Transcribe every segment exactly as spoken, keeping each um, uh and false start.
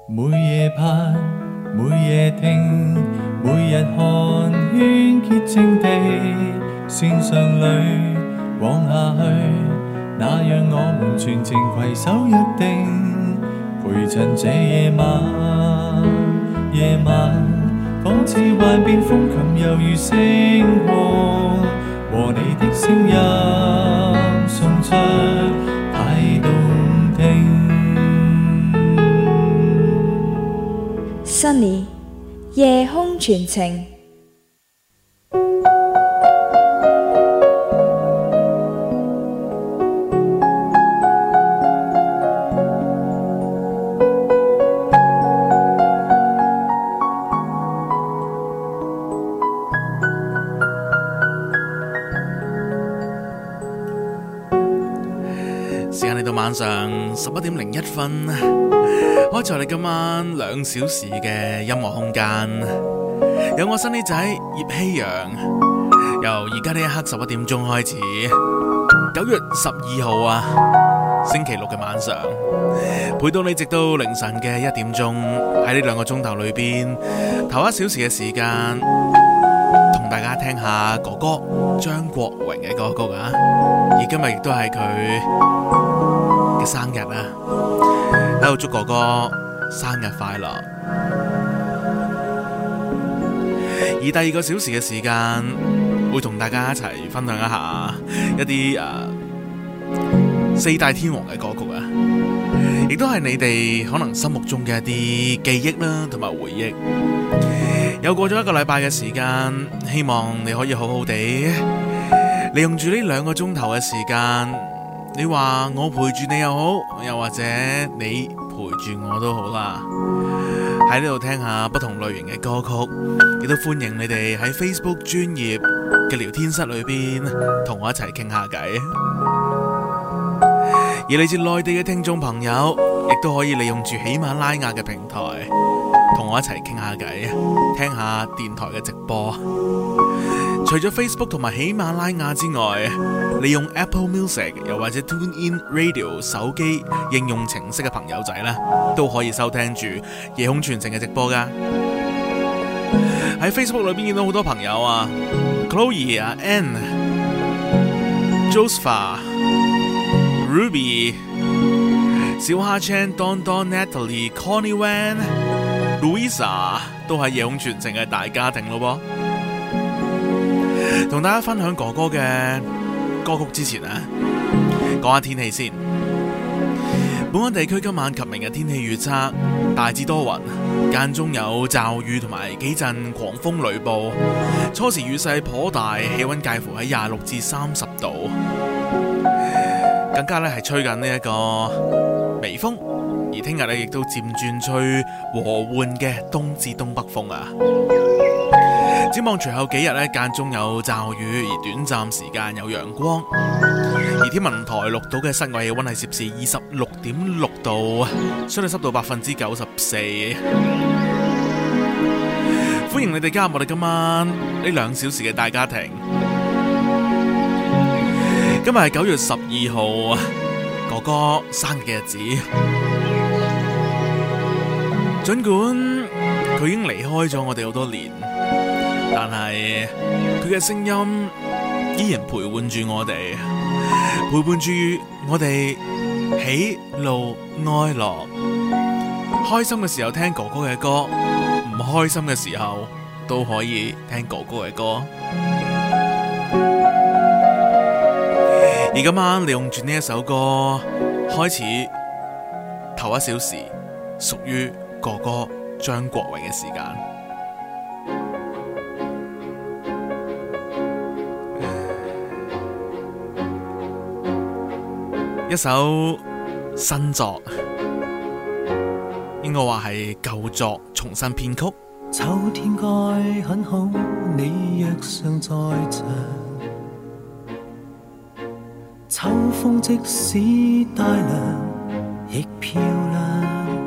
每夜盼，每夜聽，每日看，圈潔淨地線上裏往下去，那讓我們全程攜手約定，陪襯這夜晚。夜晚仿似幻變風琴，猶如星光，和你的聲音送出太動聽。 Sunny 夜空傳情。 時間嚟到晚上十一點零一分，開咗我哋今晚兩小時嘅音樂空間，有我新呢仔葉希陽，由而家呢一刻十一點鐘開始，九月十二號啊，星期六嘅晚上，陪到你直到凌晨嘅一點鐘，喺呢兩個鐘頭裏邊，頭一小時嘅時間，同大家聽下哥哥張國榮嘅歌曲啊，而今日亦都係佢嘅生日啊，喺度祝哥哥生日快樂。而第二個小時嘅時間，會同大家一齊分享一下一啲誒、呃、四大天王嘅歌曲啊，亦都係你哋可能心目中嘅一啲記憶啦，同埋回憶。又過咗一個禮拜嘅時間，希望你可以好好地利用住呢兩個鐘頭嘅時間。你話我陪住你又好，又或者你陪住我都好啦。喺呢度聽下不同類型嘅歌曲，亦都歡迎你哋喺 Facebook 專頁嘅聊天室裏邊同我一齊傾下偈。而嚟自內地嘅聽眾朋友，亦都可以利用住喜馬拉雅嘅平台同我一齊傾下偈，聽下電台嘅直播。除咗 Facebook 同埋喜馬拉雅之外，利用 Apple Music 又或者 TuneIn Radio 手機應用程式嘅朋友仔呢，都可以收聽住夜空傳情嘅直播噶。喺 Facebook 裏邊見到好多朋友啊 ，Chloe 啊 ，Anne、Josepha、Ruby、小蝦 Chan、Don Don、Natalie、Connie Wan、Louisa 都係夜空傳情嘅大家庭咯噃。同大家分享哥哥嘅歌曲之前啊，講下天氣先。本港地區今晚及明日天氣預測大致多雲，間中有驟雨同埋幾陣狂風雷暴，初時雨勢頗大，氣溫介乎喺廿六至三十度，更加咧係吹緊呢一個微風，而聽日咧亦都漸轉吹和緩嘅東至東北風啊。展望隨後幾日咧，間中有驟雨，而短暫時間有陽光。而天文台錄到嘅室外氣溫係攝氏二十六點六度，相對濕度百分之九十四。歡迎你哋加入我哋今晚呢兩小時嘅大家庭。今日係九月十二號，哥哥生日嘅日子。儘管佢已經離開咗我哋好多年，但係佢嘅聲音依然陪伴住我哋，陪伴住我哋喜怒哀樂。開心嘅時候聽哥哥嘅歌，唔開心嘅時候都可以聽哥哥嘅歌。而今晚利用住呢一首歌，開始頭一小時屬於哥哥張國榮嘅時間。一首新作，應該話係舊作重新編曲。 秋天該很好，你若尚在場。秋風即使帶涼，亦漂亮。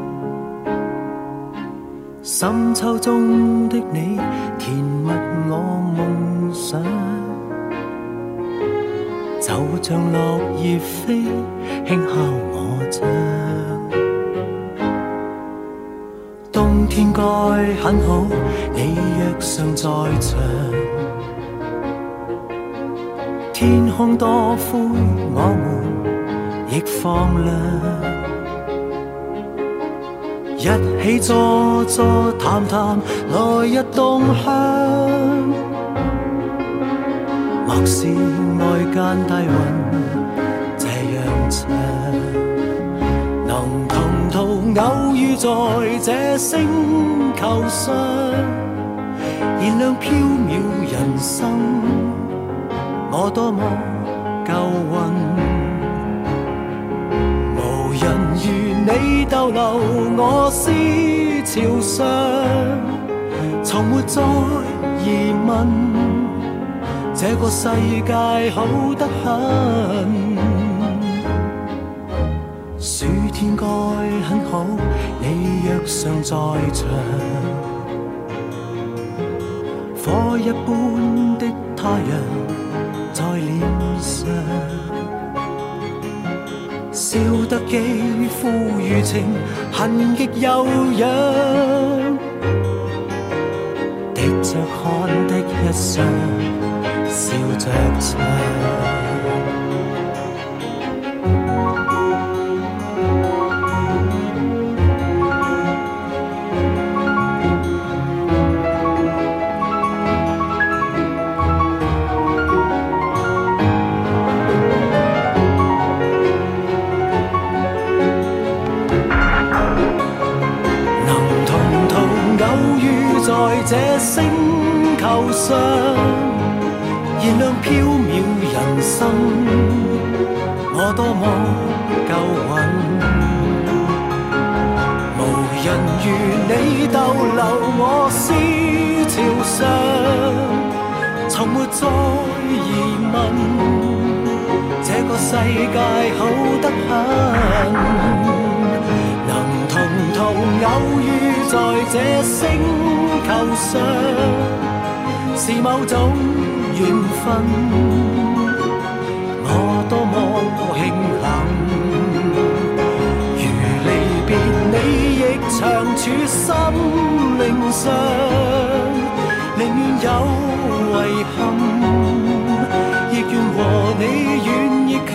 深秋中的你，填密我夢想。就像落葉飛，輕敲我窗。 冬天該很好，你若尚在場。天空多灰，我們亦放亮。一起坐坐談談，來日動向。莫視外間低溫這樣長，能同途偶遇在這星球上，燃亮飄渺人生。我多麼夠運，無人如你逗留我思潮上，從沒再疑問，這個世界好得很。暑天該很好，你若尚在場，火一般的太陽在臉上，笑得肌膚如情，痕極悠揚，滴着汗的一雙，笑着唱。這星球上燃亮飄渺人生，我多麼夠運，無人如你逗留我思潮上，從沒再疑問，這個世界好得很，能同途偶遇在這星球上是某種緣分，我多麼慶幸，如離別你亦長駐心靈上，寧願有遺憾，亦願和你遠亦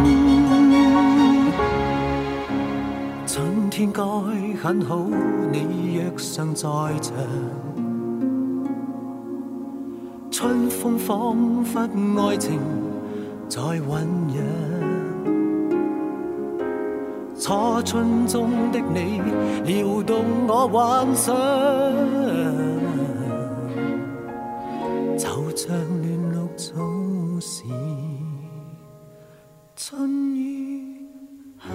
近。春天該很好，你若尚在場，春風彷彿愛情在醖釀，初春中的你撩動我幻想，就像亂綠草時春雨香。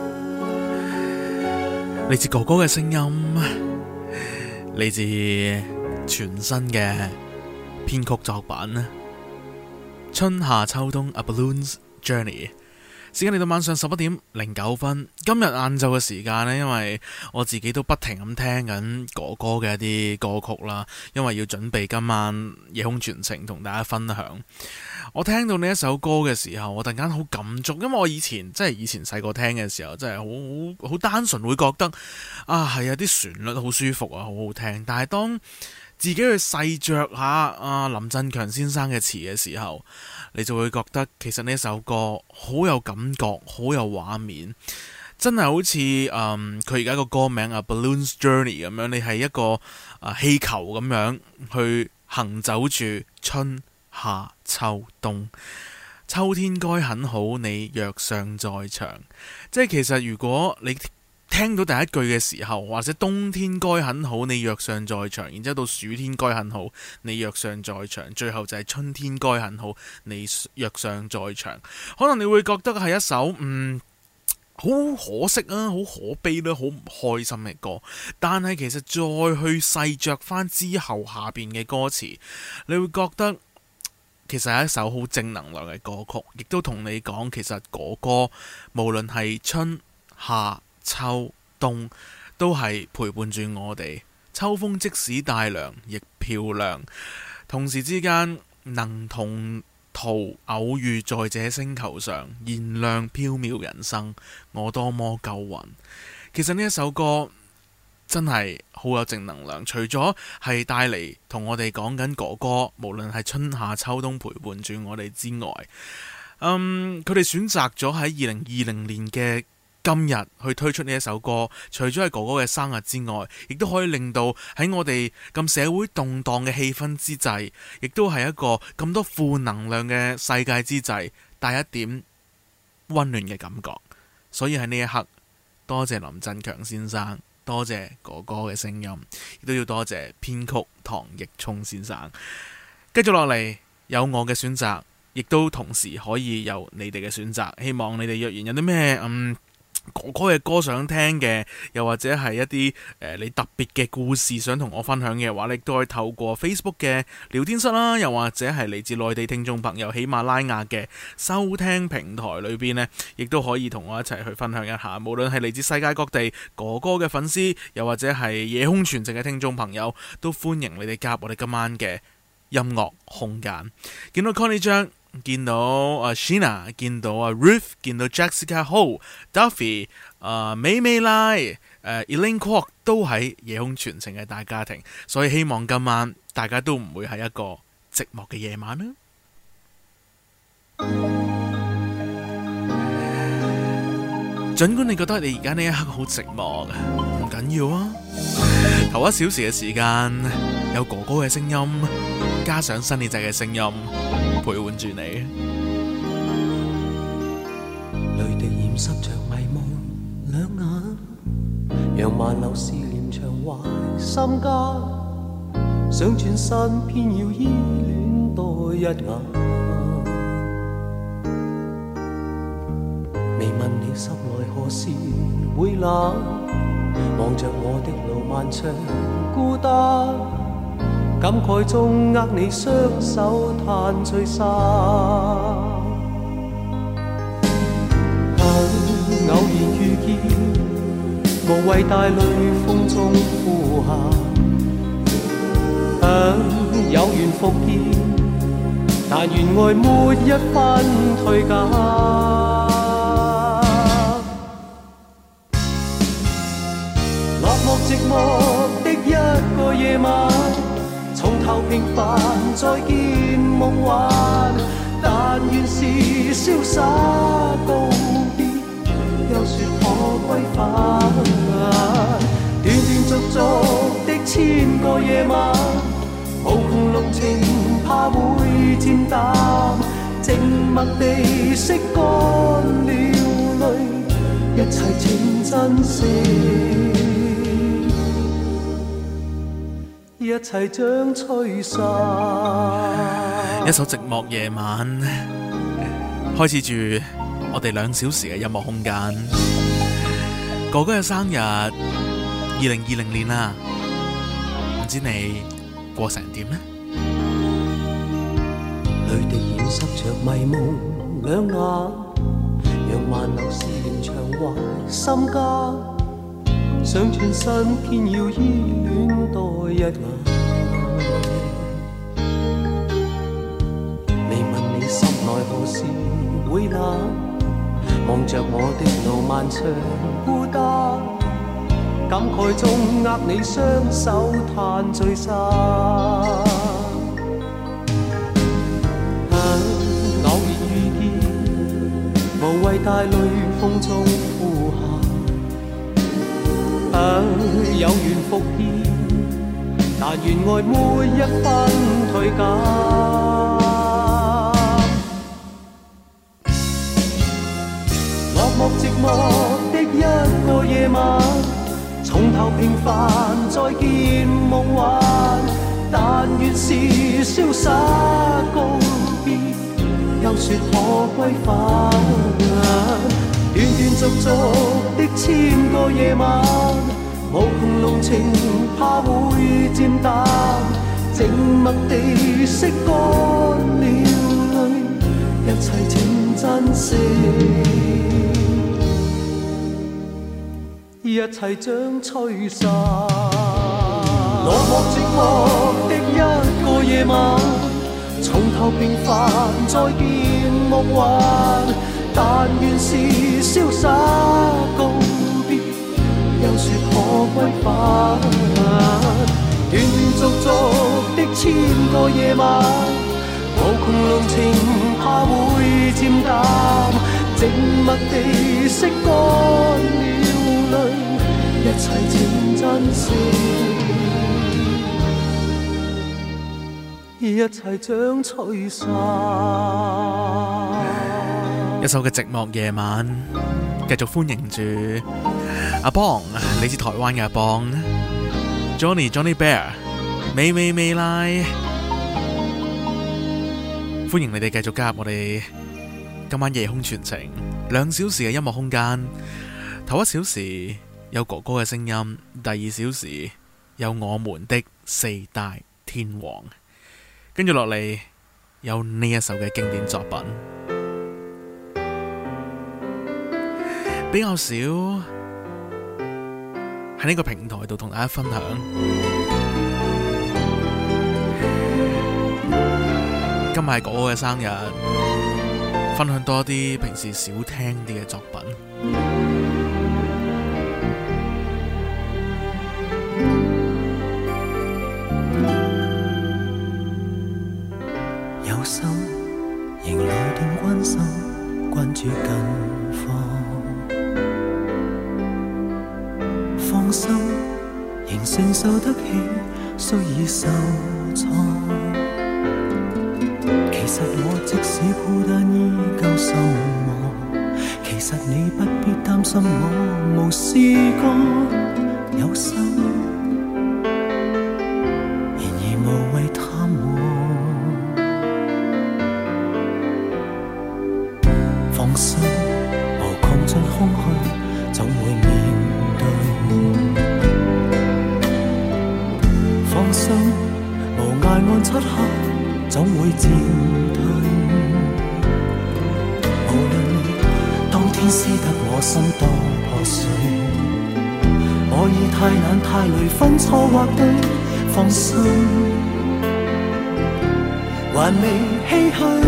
嚟自哥哥嘅聲音，嚟自全新嘅編曲作品春夏秋冬 A Balloon's Journey。 時間嚟到晚上十一點零九分。今日晏晝嘅時間呢，因為我自己都不停咁聽緊哥哥嘅一啲歌曲啦，因為要準備今晚夜空傳情同大家分享。我聽到呢一首歌嘅時候，我突然間好感觸，因為我以前即係以前細個聽嘅時候，真係好好好單純會覺得啊，係啊，啲旋律好舒服啊，好好聽。但係當自己去細嚼下啊林振強先生嘅詞嘅時候，你就會覺得其實呢首歌好有感覺，好有畫面，真係好似誒佢而家個歌名啊 Balloon's Journey 咁樣，你係一個啊氣球咁樣去行走住春夏秋冬。秋天該很好，你若尚在場。即係其實如果你聽到第一句嘅時候，或者冬天該很好，你若尚在場，然之後到暑天該很好，你若尚在場，最後就係春天該很好，你若尚在場。可能你會覺得係一首嗯好可惜啊，好可悲啦，好唔開心嘅歌。但係其實再去細嚼翻之後下邊嘅歌詞，你會覺得其實係一首好正能量嘅歌曲，亦都同你講其實哥哥無論係春夏秋冬都係陪伴住我哋。秋風即使帶涼亦漂亮，同時之間能同途偶遇在這星球上，燃亮飄渺人生，我多麼夠運。其實呢一首歌真係好有正能量。除咗係帶嚟同我哋講緊哥哥，無論係春夏秋冬陪伴住我哋之外，嗯，佢哋選擇咗喺二零二零年嘅今日去推出呢一首歌，除咗係哥哥嘅生日之外，亦都可以令到喺我哋咁社會動盪嘅氣氛之際，亦都係一個咁多負能量嘅世界之際，帶一點溫暖嘅感覺。所以喺呢一刻，多謝林振強先生，多謝哥哥嘅聲音，亦都要多謝編曲唐奕聰先生。繼續落嚟有我嘅選擇，亦都同時可以有你哋嘅選擇。希望你哋若然有啲咩嗯哥哥嘅歌想聽嘅，又或者係一啲誒、呃、你特別嘅故事想同我分享嘅話，你都可以透過 Facebook 嘅聊天室啦，又或者係嚟自內地聽眾朋友喜馬拉雅嘅收聽平台裏邊呢，亦都可以同我一齊去分享一下。無論係嚟自世界各地哥哥嘅粉絲，又或者係夜空傳情嘅聽眾朋友，都歡迎你哋加入我哋今晚嘅音樂空間。見到 Connie 張，見到啊 Sheena， 見到啊 Ruth， 見到 Jessica Ho、Duffy、呃、美美拉、誒 Elaine Kwok 都喺夜空傳情嘅大家庭，所以希望今晚大家都唔會係一個寂寞嘅夜晚啦。儘管你覺得你而家呢一刻好寂寞，唔緊要啊，頭一小時嘅時間有哥哥嘅聲音，加上新李仔嘅聲音陪伴住你， 淚滴染濕着迷夢兩眼，讓萬流思念長懷心間，想轉身偏要依戀多一眼，未問你心內何時會冷，望着我的路漫長孤單，感慨中握你雙手嘆聚散，偶然遇見，無謂帶淚風中呼喊，有緣復見，但願愛沒一分退減。落寞寂寞的一個夜晚，從頭平凡再見夢幻，但願是瀟灑告別，又說可歸返。斷斷續續的千個夜晚，無窮濃情怕會漸淡，靜默地拭乾了淚，一切請珍惜，一切將吹散。 一首寂寞夜晚，開始住我哋兩小時嘅音樂空間。哥哥嘅生日，二零二零年啦，唔知你過成點呢？ 淚滴染濕着迷夢兩眼，讓萬流思念長懷心間，想轉身偏要依戀多一眼，未問你心內何時會冷，望着我的路漫長孤單，感慨中握你雙手嘆聚散，偶然遇見，無謂帶淚風中呼喊，有緣復見，但願愛沒一分退減。落寞寂寞的一個夜晚，從頭平凡再見夢幻，但願是瀟灑告別，又說可歸返。斷斷續續的千個夜晚，無窮濃情怕會漸淡，靜默地拭乾了淚，一切請珍惜，一切將吹散。落寞寂寞的一個夜晚，從頭平凡再見夢幻，但願是瀟灑告別，又說可歸返。斷斷續續的千個夜晚，無窮濃情怕會漸淡，靜默地拭乾了淚，一切請珍惜，一切將吹散。 一首嘅寂寞夜晚，繼續歡迎住阿邦，嚟自台灣嘅阿邦 Johnny Johnny Bear 美美美拉，歡迎你哋繼續加入我哋今晚夜空傳情兩小時嘅音樂空間。頭一小時有哥哥嘅聲音，第二小時有我們的四大天王，跟住落嚟有呢一首嘅經典作品。比較少喺呢個平台度同大家分享。今日係哥哥嘅生日，分享多啲平時少聽啲嘅作品。 有心仍來電關心，關注近況。放心，仍承受得起，雖已受創。其實我即使孤單依舊守望，其實你不必擔心我無事過。有心，然而無謂貪望。放心，無窮盡空虛，總會面放心，無涯岸漆黑，總會漸退。無論你當天撕得我心多破碎，我已太懶太累分錯或對。放心，還未唏噓，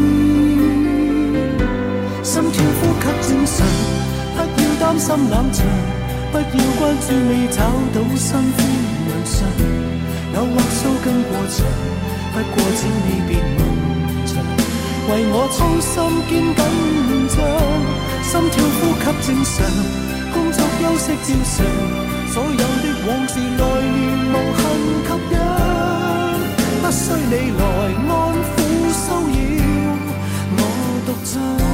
心跳呼吸正常，不要擔心冷場，不要關注未找到新歡良相。有或蘇更過長，不過請你別問長，為我操心兼緊張，心跳呼吸正常，工作休息照常，所有的往事來年無痕吸引，不需你來安撫騷擾我獨唱。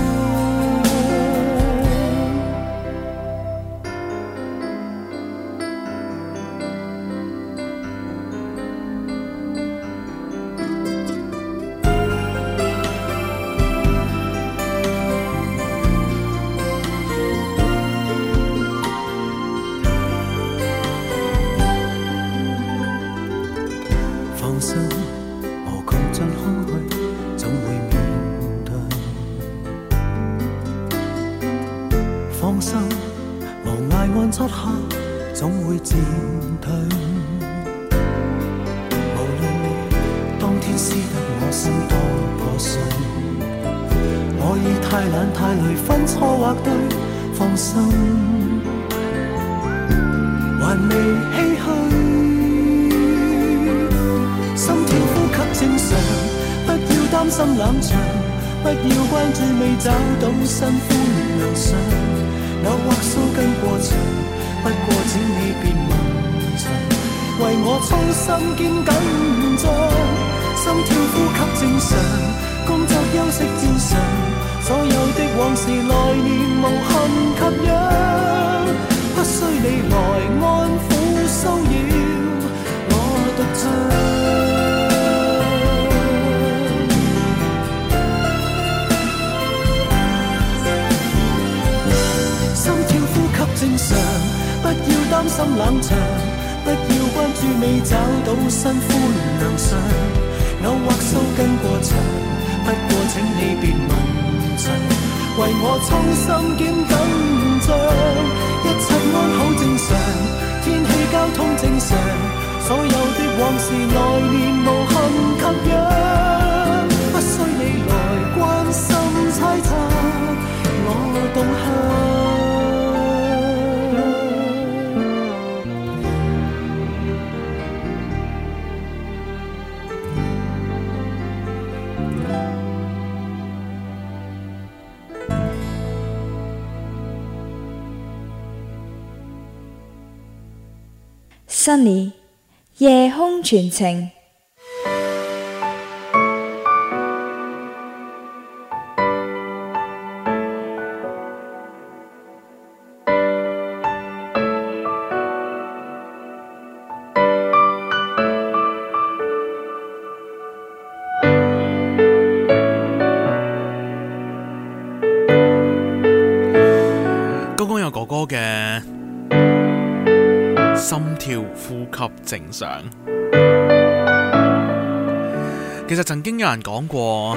找到新歡良相，偶或蘇更過長，不過請你別問長，為我操心兼緊張，心跳呼吸正常，工作休息照常，所有的往事來年無痕吸引，不需你來安撫騷擾我獨唱。正常，不要擔心冷場，不要關注未找到新歡良相，偶或蘇更過長，不過請你別問長，為我操心兼緊張，一切安好正常，天氣交通正常，所有的往事來年無痕吸引，不需你來關心猜測我動向。 Sunny 夜空傳情。 剛剛有哥哥嘅心跳呼吸正常。其實曾經有人講過，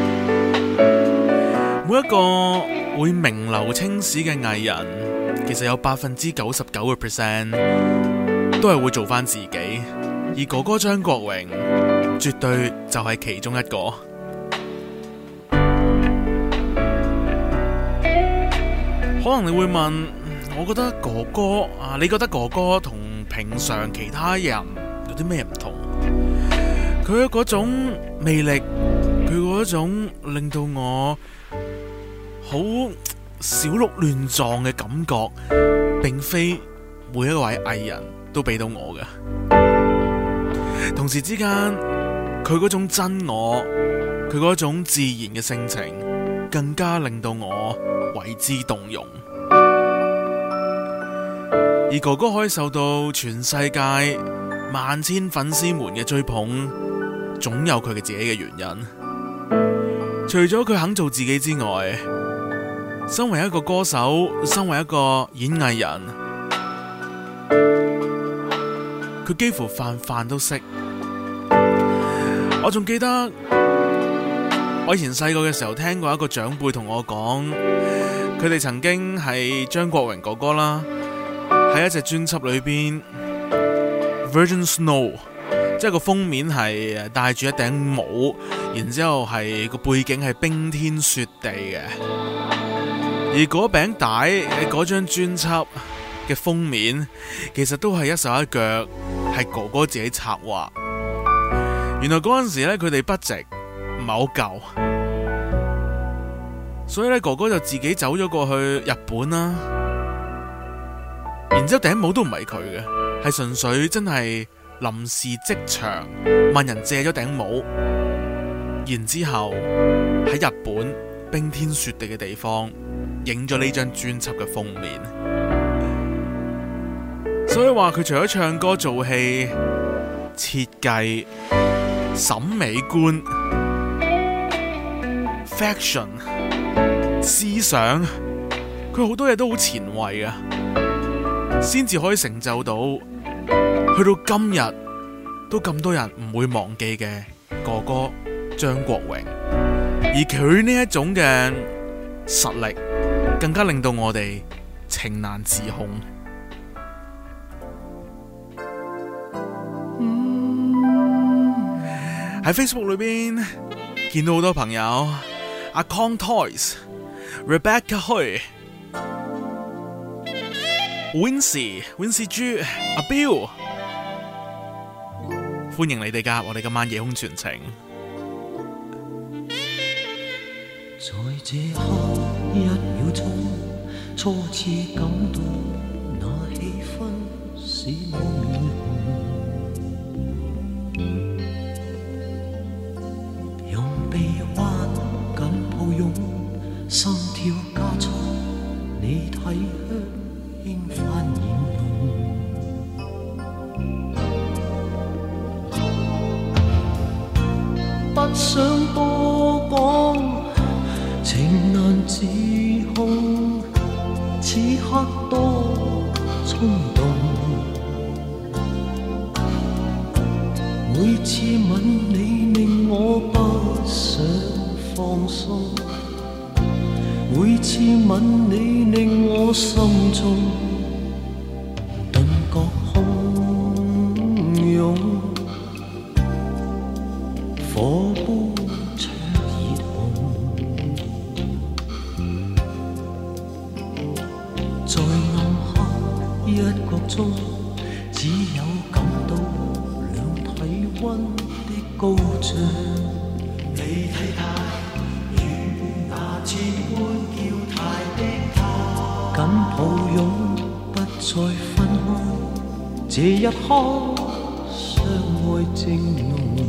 每一個會名留青史嘅藝人，其實有百分之九十九嘅 percent 都係會做返自己，而哥哥張國榮絕對就係其中一個。可能你會問，我覺得哥哥啊，你覺得哥哥同平常其他人有啲咩唔同？佢嗰種魅力，佢嗰種令到我好小鹿亂撞嘅感覺，並非每一位藝人都俾到我嘅。同時之間，佢嗰種真我，佢嗰種自然嘅性情，更加令到我為之動容。而哥哥可以受到全世界萬千粉絲們嘅追捧，總有佢嘅自己嘅原因。除咗佢肯做自己之外，身為一個歌手，身為一個演藝人，佢幾乎飯飯都識。我仲記得我以前細個嘅時候聽過一個長輩同我講，佢哋曾經係張國榮哥哥啦，喺一隻專輯裏邊 Virgin Snow， 即係個封面係戴住一頂帽，然之後係個背景係冰天雪地嘅，而嗰餅帶嗰張專輯嘅封面其實都係一手一腳係哥哥自己策劃。原來嗰陣時咧，佢哋 budget唔係好夠，所以咧哥哥就自己走咗過去日本啦。然之後頂帽都唔係佢嘅，係純粹真係臨時即場問人借咗頂帽，然之後喺日本冰天雪地嘅地方影咗呢張專輯嘅封面。所以話佢除咗唱歌做戲、設計、審美觀、fashion、思想，佢好多嘢都好前衛啊，先至可以成就到去到今日都咁多人唔會忘記嘅哥哥張國榮。而佢呢一種嘅實力更加令到我哋情難自控。喺 Facebook 裏邊見到好多朋友，阿 Con Toys、Rebecca Hui、Wincy、Wincy 豬、阿 Bill， 歡迎你哋加入我哋今晚夜空傳情。 在這刻一秒鐘，初次感到那氣氛使我面紅，用臂彎緊抱擁，心跳加速，你體香輕泛染濃，不想多講，情難自控，此刻多衝動，每次吻你令我不想放鬆，每次吻你令我心中頓覺洶湧，火煲灼熱紅，在暗黑一角中，只有感到兩體溫的高漲。你睇他如那千般嬌態的他，緊抱擁不再分開，這這一刻相愛正濃，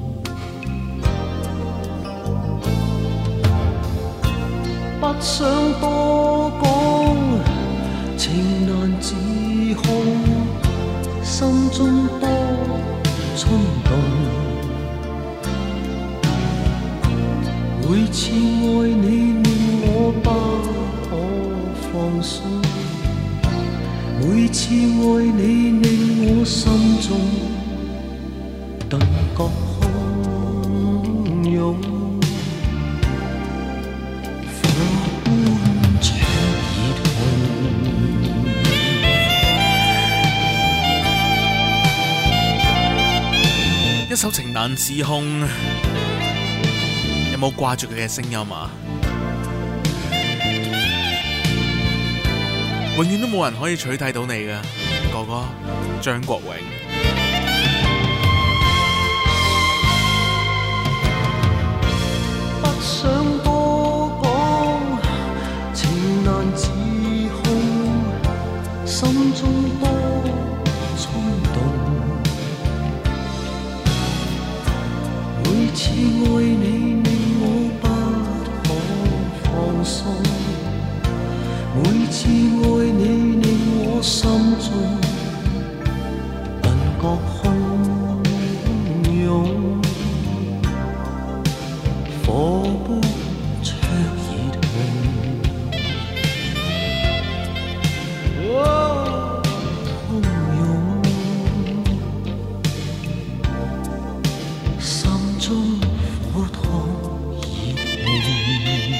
不想多講，情難自控，心中多衝動。每次愛你令我不可放鬆，每次愛你令我心中頓覺洶湧，火般灼熱紅。 一首情難自控，有冇掛住佢嘅聲音啊？永遠都冇人可以取替到你嘅哥哥張國榮。 不想多講，情難自控，心中多衝動。每次愛你令我不可放鬆，每次愛你令我心中頓覺洶湧，火般灼熱紅，洶湧，心中火燙熱紅。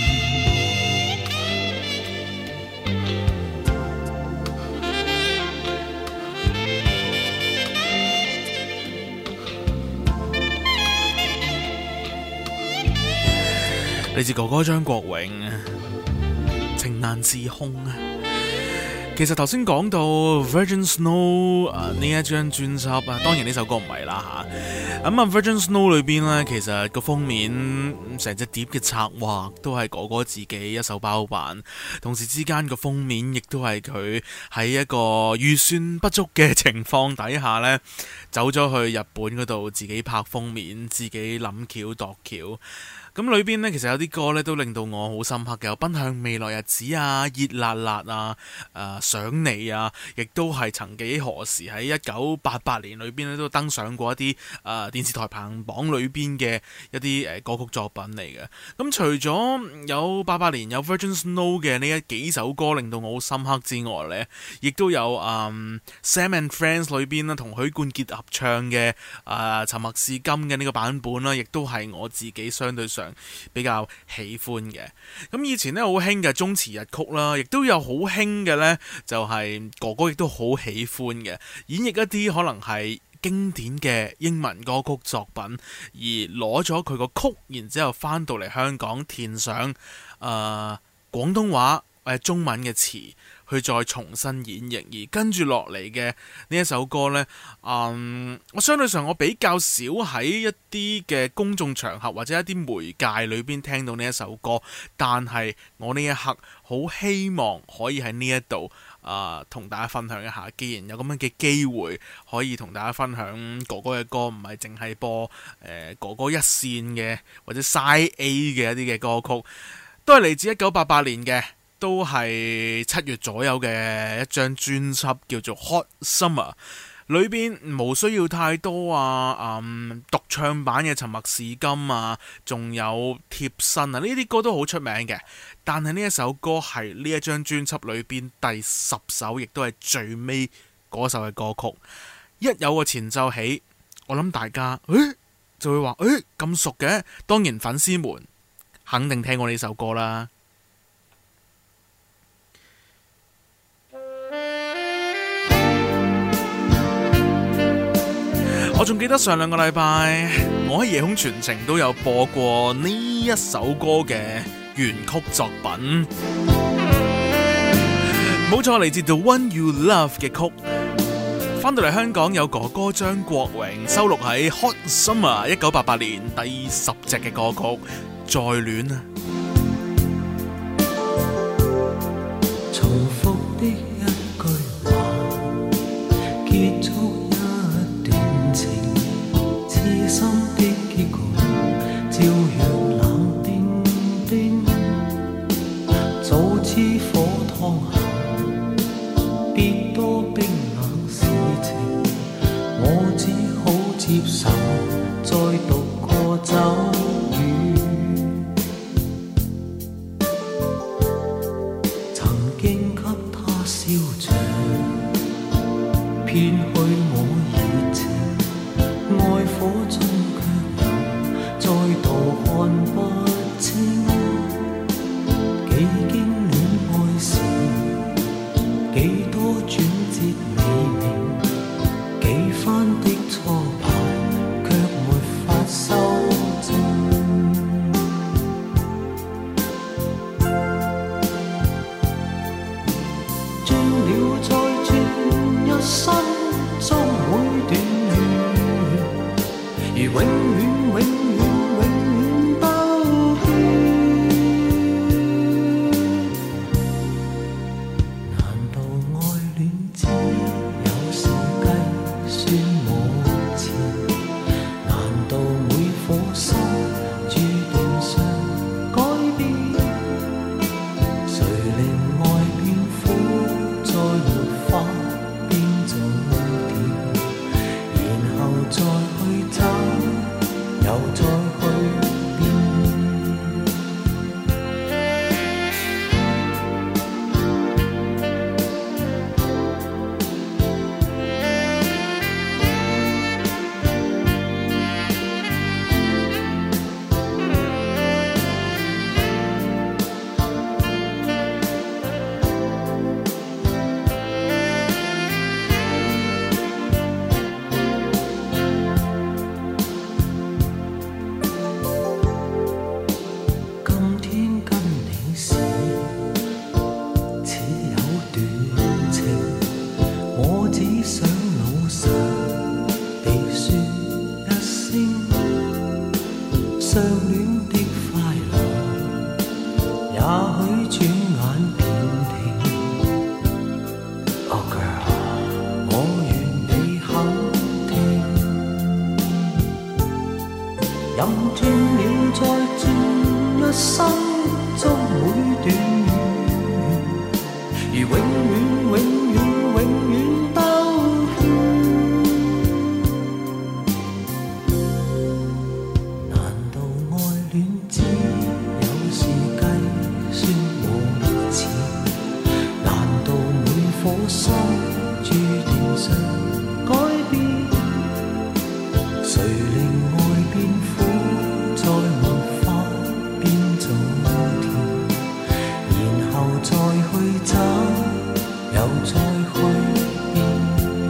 嚟自哥哥張國榮，情難自控啊！其實頭先講到 Virgin Snow 啊呢一張專輯啊，當然呢首歌唔係啦吓。咁啊 Virgin Snow 裏邊呢，其實個封面成隻碟嘅策劃都係哥哥自己一手包辦，同時之間個封面亦都係佢喺一個預算不足嘅情況底下呢，走咗去日本嗰度自己拍封面，自己諗橋度橋。咁裏邊呢，其實有啲歌呢都令到我好深刻嘅，有奔向未來日子啊、熱辣辣啊、誒、呃、想你啊，亦都係曾幾何時喺一九八八年裏邊咧都登上過一啲誒、呃、電視台排行榜裏邊嘅一啲誒、呃、歌曲作品嚟嘅。咁除咗有八八年有 Virgin Snow 嘅呢一幾首歌令到我好深刻之外呢，亦都有誒、嗯、Sam and Friends 裏邊啦同許冠傑合唱嘅誒、呃、沉默是金嘅呢個版本啦，亦都係我自己相對上比較喜歡嘅。咁以前咧好興嘅中詞日曲啦，亦都有好興嘅呢，就係哥哥亦都好喜歡嘅演繹一啲可能係經典嘅英文歌曲作品，而攞咗佢個曲，然之後翻到嚟香港填上誒、呃、廣東話或者中文嘅詞，去再重新演繹，而跟住落嚟嘅呢一首歌呢，嗯，我相對上我比較少喺一啲嘅公眾場合或者一啲媒介裏邊聽到呢一首歌，但係我呢一刻好希望可以喺呢一度啊同大家分享一下。既然有咁樣嘅機會可以同大家分享哥哥嘅歌，唔係淨係播誒、呃、哥哥一線嘅或者 Side A 嘅一啲嘅歌曲，都係嚟自一九八八年嘅。都係七月左右嘅一張專輯叫做 Hot Summer， 裏邊冇需要太多啊，嗯，獨唱版嘅沉默是金啊，仲有貼身啊，呢啲歌都好出名嘅。但係呢一首歌係呢一張專輯裏邊第十首，亦都係最尾嗰首嘅歌曲。一有個前奏起，我諗大家誒就會話誒咁熟嘅，當然粉絲們肯定聽過呢首歌啦。我仲記得上兩個禮拜，我喺夜空傳情都有播過呢一首歌嘅原曲作品，冇錯，嚟自 The One You Love 嘅曲。翻到嚟香港有哥哥張國榮收錄喺 Hot Summer 一九八八年第十隻嘅歌曲《再戀》啊。 重複的一句話，叫結束一段情，痴心的結局照樣冷冰冰，早知火燙後別多冰冷事情，我只好接受再獨個走遠。曾經給他燒着偏去我熱情，愛火中卻又再度看不清，幾經戀愛時，幾多轉折未明，幾番的挫敗卻沒法修正。轉了再轉，一生終會斷而永遠永遠永遠兜圈。難道愛戀只有時計算無情？難道每顆心注定想改變？誰令愛變苦，再沒法變做甜，然後再去找，又再去變。今天跟你時，似有段情，我只想老實地說一聲，相戀的快樂，也許轉眼便停。Oh girl，我願你肯聽，任轉了再轉，一生終會斷，而永遠永遠永遠兜圈。難道愛戀只有時計算無情？難道每顆心注定想改變？誰令愛變苦，再沒法變做甜，然後再去找，又再去變。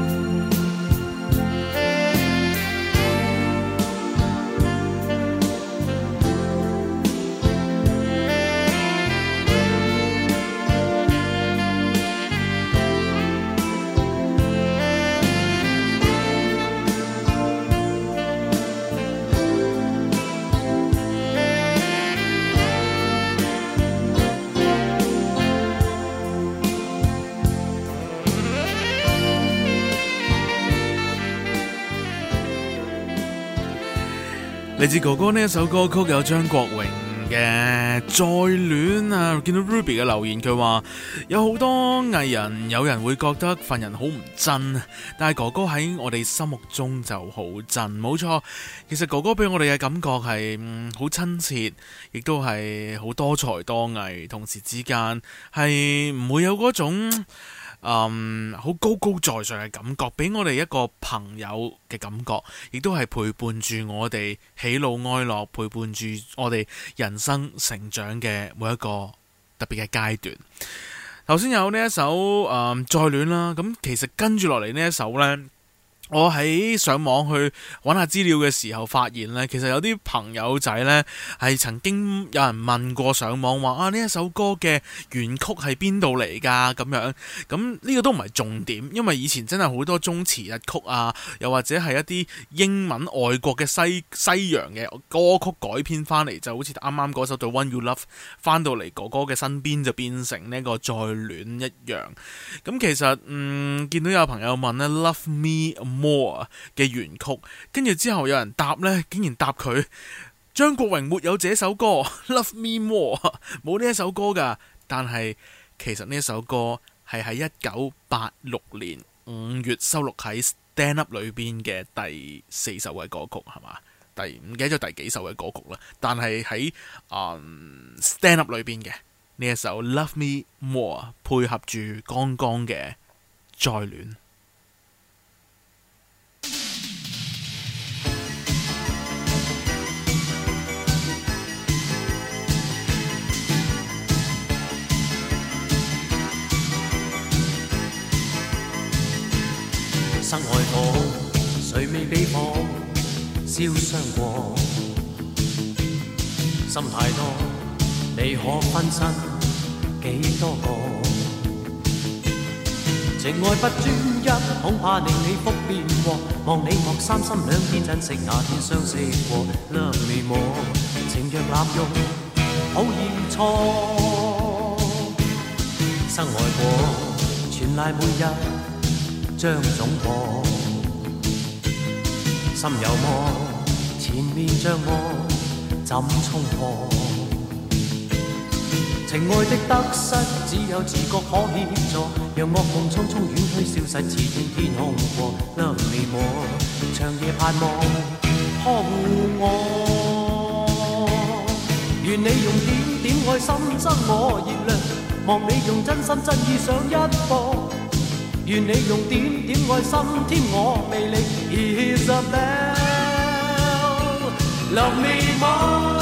嚟自哥哥呢一首歌曲有張國榮嘅《再戀》啊，見到 Ruby 嘅留言，佢話有好多藝人，有人會覺得份人好唔真，但係哥哥喺我哋心目中就好真，冇錯。其實哥哥俾我哋嘅感覺係嗯好親切，亦都係好多才多藝，同時之間係唔會有嗰種嗯，好高高在上嘅感覺，俾我哋一個朋友嘅感覺，亦都係陪伴住我哋喜怒哀樂，陪伴住我哋人生成長嘅每一個特別嘅階段。頭先有呢一首誒、嗯、再戀啦，咁其實跟住落嚟呢一首呢， 我喺上網去揾下資料嘅時候，發現呢，其實有啲朋友仔呢係曾經有人問過上網話啊，呢一首歌嘅原曲係邊度嚟㗎？咁樣咁呢個都唔係重點，因為以前真係好多中詞日曲啊，又或者係一啲英文外國嘅西西洋嘅歌曲改編翻嚟，就好似啱啱嗰首《The One You Love》翻到嚟哥哥嘅身邊就變成呢個再戀一樣。咁其實嗯見到有朋友問呢 Love Me More 嘅原曲，跟住之後有人答呢，竟然答佢張國榮沒有這首歌Love Me More， 冇呢一首歌㗎。但係其實呢一首歌係喺一九八六年五月收錄喺 Stand Up 裏邊嘅第四首嘅歌曲，係嘛？第唔記得咗第幾首嘅歌曲啦。但係喺、嗯、Stand Up 裏邊嘅呢一首 Love Me More 配合住剛剛嘅再戀。 室外火，誰未被火燒傷過？心太多，你可分身幾多個？情愛不專一，恐怕令你福變禍。望你莫三心兩意，珍惜那天相識過。Love me more，情若濫用，好易錯。生愛過，全賴每日將總過，心有魔，前面障礙怎衝破？情愛的得失，只有自覺可協助，讓惡夢匆匆遠去，消失似天天空過。Love me more，長夜盼望呵護我，願你用點點愛心增我熱量，望你用真心真意上一課。願你用點點愛心添我魅力 Isabel Love me more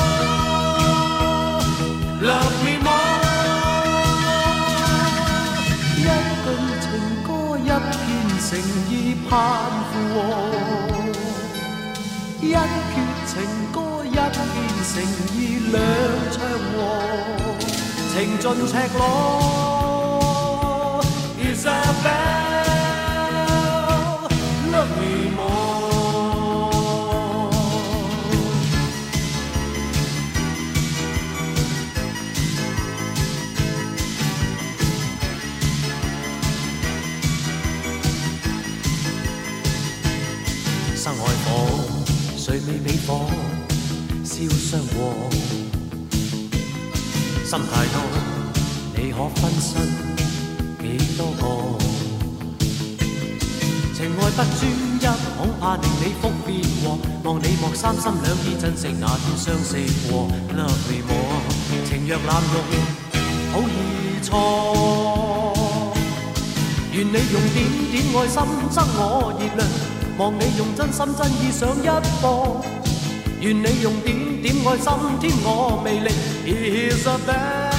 Love me more 一句情歌一片誠意盼附和，一闕情歌一片誠意兩唱和，情盡赤裸 Isabel生愛火，誰未被火燒傷過？心太多，你可分身幾多個？情愛不專一，恐怕令你福變禍。望你莫三心兩意，珍惜那天相識過。Love me more，情若濫用，好易錯。願你用點點愛心增我熱量，望你用真心真意上一課。願你用點點愛心添我魅力 Isabel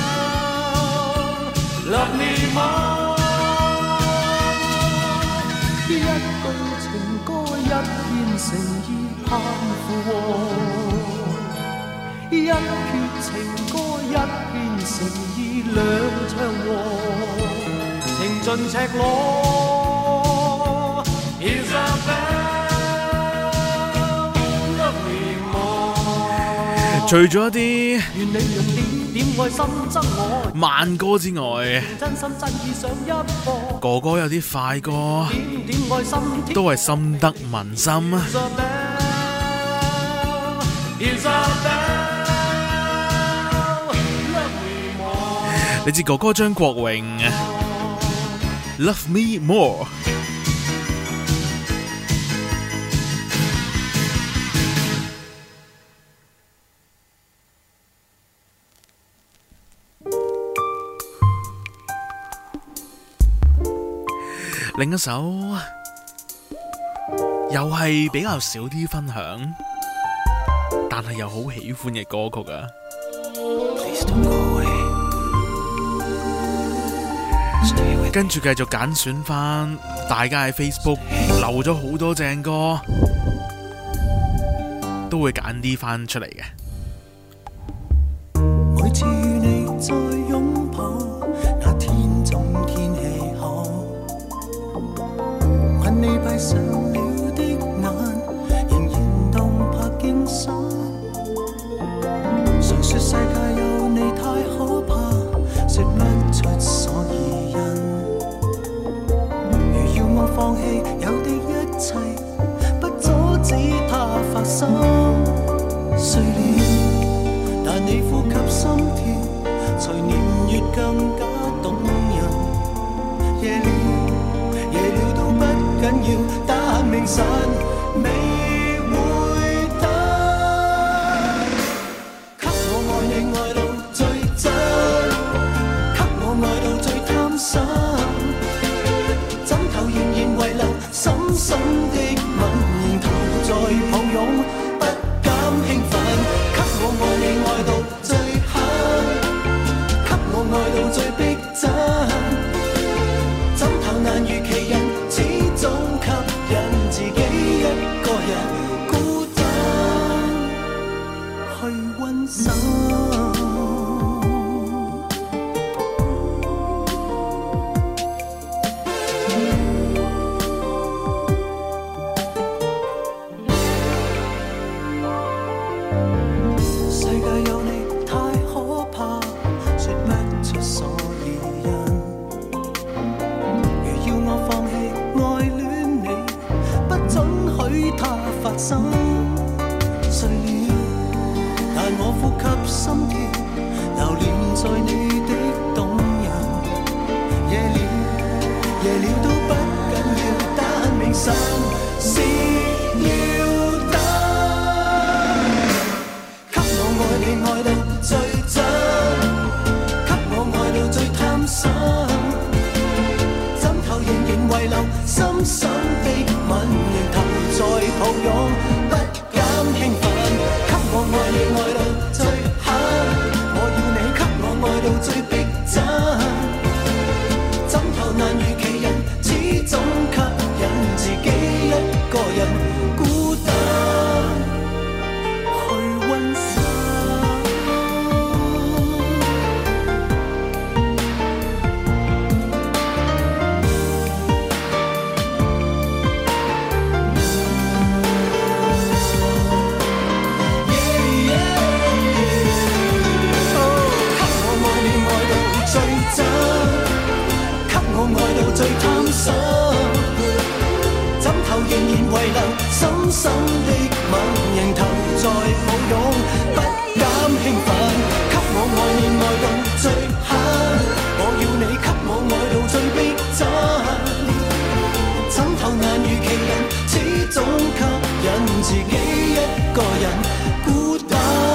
Love me more。一句情歌一片誠意盼附和，一闕情歌一片誠意兩唱和，情盡赤裸 Isabel Love me more。 除咗一啲願你用點點愛心增我慢歌之外， 真心真意上一課。 哥哥有啲快歌點點愛心都係深得民心。你知哥哥張國榮 Love me more。另一首又係比較少啲分享，但係又好喜歡嘅歌曲啊。Please don't go away. Stay with 跟住繼續揀選翻大家喺 Facebook 留咗好多正歌，都會揀啲翻出嚟嘅。 每次與你再擁抱，那天總天氣好，問你閉上了的眼，仍然動魄驚心。常說世界有你太可怕，說不出所以因。如要我放棄有的一切，不阻止它發生。睡了，但你呼吸心跳，隨年月更加動人。夜了，夜了都不緊要，但明晨未會等。給我愛你愛到最真，給我愛到最貪心，枕頭仍然遺留深深的吻，仍投在抱擁，不敢興奮。給我愛你愛到最狠，給我愛到最逼真，枕頭難如其人，始終吸引自己一個人孤單去溫習。睡了，但我呼吸心跳留戀在你的動人。夜了，夜了都不緊要，但明晨是要等。給我愛你愛到最真，給我愛到最貪心，枕頭仍然遺留深深的吻，仍投在抱擁，不敢興奮。給我愛你愛到最狠，我要你給我愛到最逼真，枕頭難如其人，始終吸引自己一個人孤單去溫習。最貪心，枕頭仍然遺留深深的吻，仍投在抱擁，不敢興奮。給我愛你愛到最狠，我要你給我愛到最逼真，枕頭難如其人，始終吸引自己一個人孤單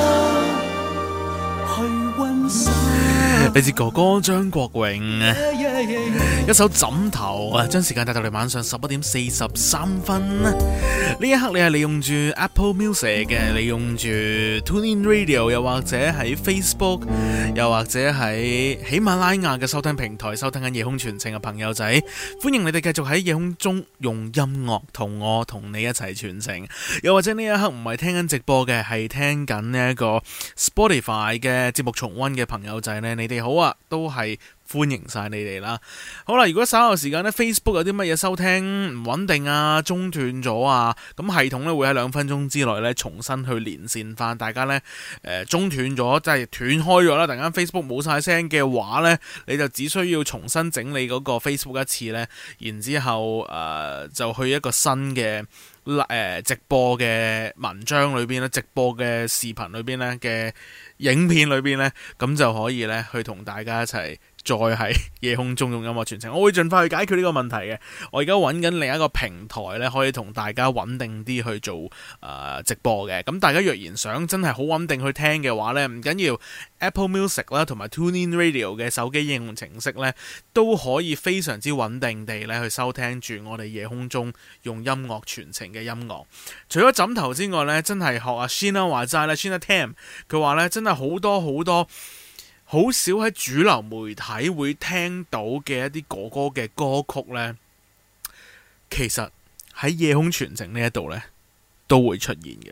去溫習。 嚟自哥哥張國榮一首枕頭啊，將時間帶到嚟晚上十一點四十三分。呢一刻你係利用住 Apple Music 嘅，利用住 TuneIn Radio， 又或者喺 Facebook， 又或者喺喜馬拉雅嘅收聽平台收聽緊夜空傳情嘅朋友仔，歡迎你哋繼續喺夜空中用音樂同我同你一齊傳情。又或者呢一刻唔係聽緊直播嘅，係聽緊呢一個 Spotify 嘅節目重溫嘅朋友仔呢，你哋好啊，都係歡迎晒你哋啦。好啦，如果稍後時間呢 Facebook 有啲乜嘢收聽唔穩定啊，中斷咗啊，咁系統呢會喺兩分鐘之內呢重新去連線翻大家呢。誒、呃、中斷咗即係斷開咗啦，突然間 Facebook 冇晒聲嘅話呢，你就只需要重新整理嗰個 Facebook 一次呢，然之後誒、呃、就去一個新嘅誒、呃、直播嘅文章裏邊咧，直播嘅視頻裏邊咧嘅影片裏邊呢，咁就可以呢去同大家一齊再喺夜空中用音樂傳情。我會盡快去解決呢個問題嘅。我而家揾緊另一個平台呢，可以同大家穩定啲去做誒、呃、直播嘅。咁大家若然想真係好穩定去聽嘅話呢，唔緊要 Apple Music 啦，同埋 TuneIn Radio 嘅手機應用程式呢，都可以非常之穩定地呢去收聽住我哋夜空中用音樂傳情嘅音樂。除咗枕頭之外呢，真係學阿 Sheena 話齋咧 Sheena Tam 佢話呢真係好多好多好少喺主流媒體會聽到嘅一啲哥哥嘅歌曲呢，其實喺夜空傳情呢一度呢都會出現嘅。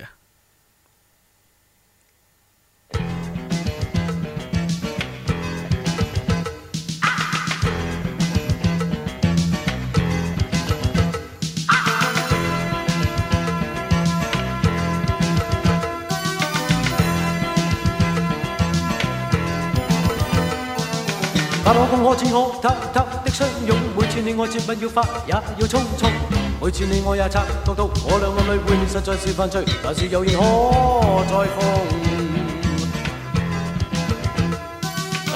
把我共我似可偷偷的相擁，每次你我接吻要快也要匆匆，每次你我也察覺到我倆暗裏會面實在是犯罪，但是又仍可再逢。啊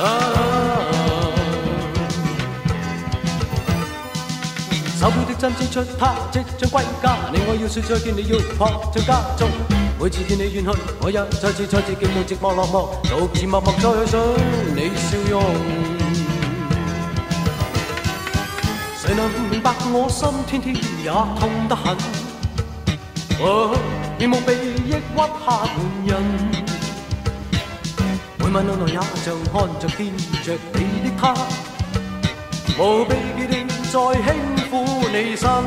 手錶的針指出他即將歸家，你我要說再見，你要撲進家中。每次見你遠去，我也再次再次見到寂寞落寞，獨自默默再想你笑容。誰能明白我心天天也痛得很？哦，面目被抑鬱下滿人，每晚腦內也像看着見着你的他，無避忌地在輕撫你身。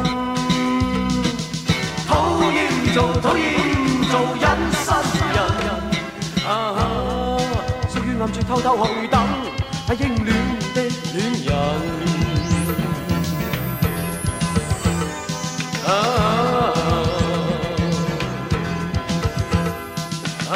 討厭做討厭做隱身人，啊，屬於暗處偷偷去等，係應戀的戀人。啊啊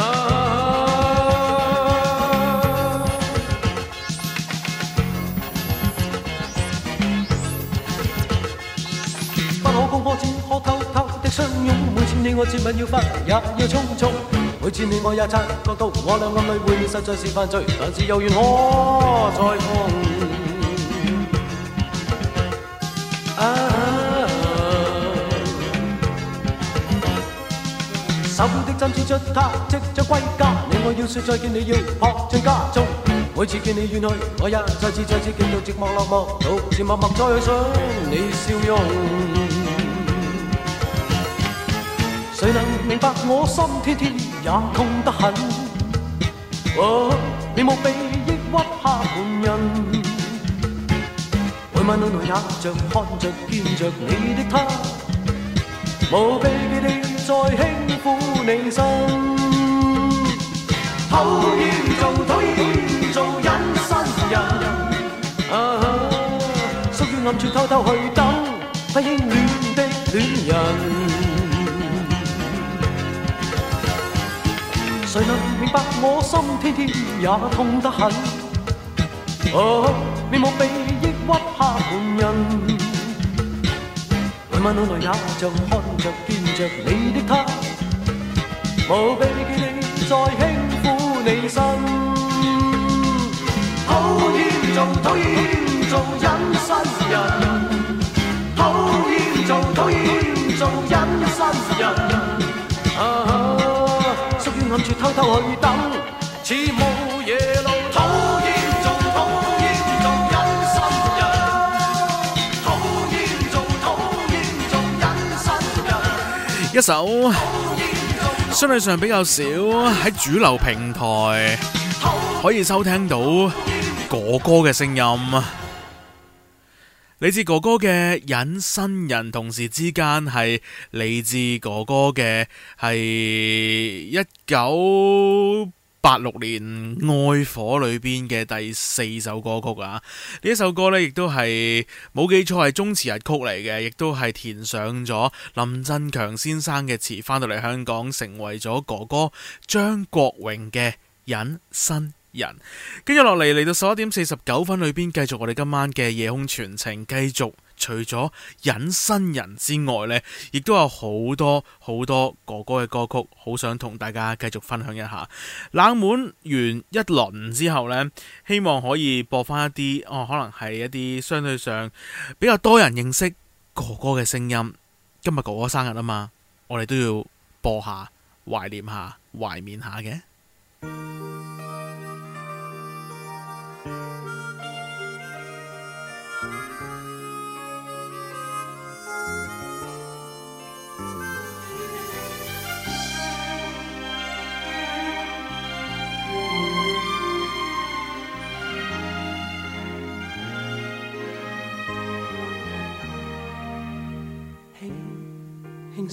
不可公開，只可偷偷的相擁，每次你我接吻要快也要匆匆，每次你我也察覺到我倆暗裏會面實在是犯罪，但是又願可再逢。啊手錶的針指出他即將歸家，你我要說再見，你要撲進家中。每次見你遠去，我也再次再次見到寂寞落寞，獨自默默再想你笑容。誰能明白我心天天也痛得很？哦，面目被抑鬱下滿人，每晚腦內也像看着見着你的他，無避忌地再輕撫你身。討厭做討厭做隱身人，啊，屬於暗處偷偷去等，不應戀的戀人。誰能明白我心天天也痛得很？哦，面目被抑鬱下滿人，每晚腦內也像看着見着你的他，無避忌地再輕撫你身。討厭做討厭做隱身人，討厭做討厭做隱身人，啊，屬於暗處偷偷去等，似無夜路。討厭做討厭做隱身人，討厭做討厭做隱身人。 一首相對上比較少喺主流平台可以收聽到哥哥嘅聲音，嚟自哥哥嘅隱身人，同時之間係嚟自哥哥嘅係一九八六年愛火裏邊嘅第四首歌曲啊！呢一首歌呢，亦都係冇記錯係中詞日曲嚟嘅，亦都係填上咗林振強先生嘅詞，翻到嚟香港成為咗哥哥張國榮嘅隱身人。跟住落嚟嚟到十一點四十九分裏邊，繼續我哋今晚嘅夜空傳情，繼續除咗隱身人之外呢，亦都有好多好多哥哥嘅歌曲，好想同大家繼續分享一下。冷門完一輪之後呢，希望可以播翻一啲哦，可能係一啲相對上比較多人認識哥哥嘅聲音。今日哥哥生日啊嘛，我哋都要播下，懷念下，懷緬下嘅。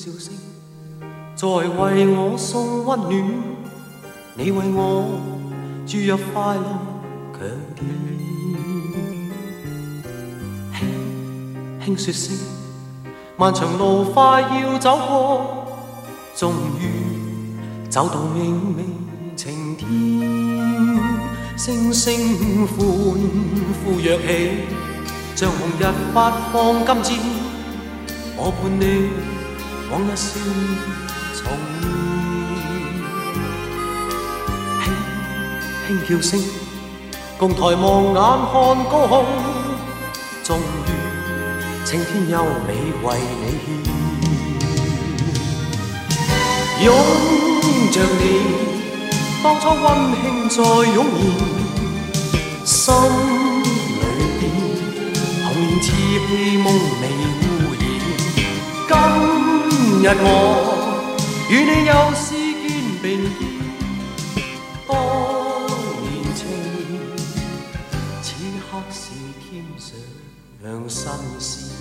笑聲，在為我送溫暖，你為我注入快樂強電。輕輕說聲，漫長路快要走過，終於走到明媚晴天。星星歡呼躍起，像紅日發放金箭，我伴你往日少年重現。輕輕叫聲，共抬望眼看高空，終於青天優美為你獻。擁着你，當初溫馨再湧現，心裏邊童年稚氣夢未污染。今日我與你又是肩並肩，當年情此刻是添上新鮮。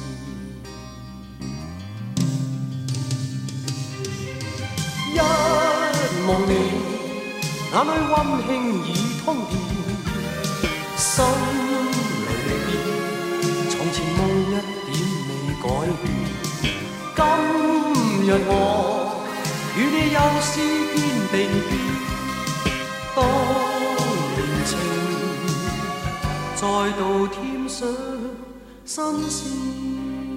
一望你，眼裏溫馨已通電，心裏邊從前夢一點未改變。今日我與你又是肩並肩，當年情再度添上新鮮。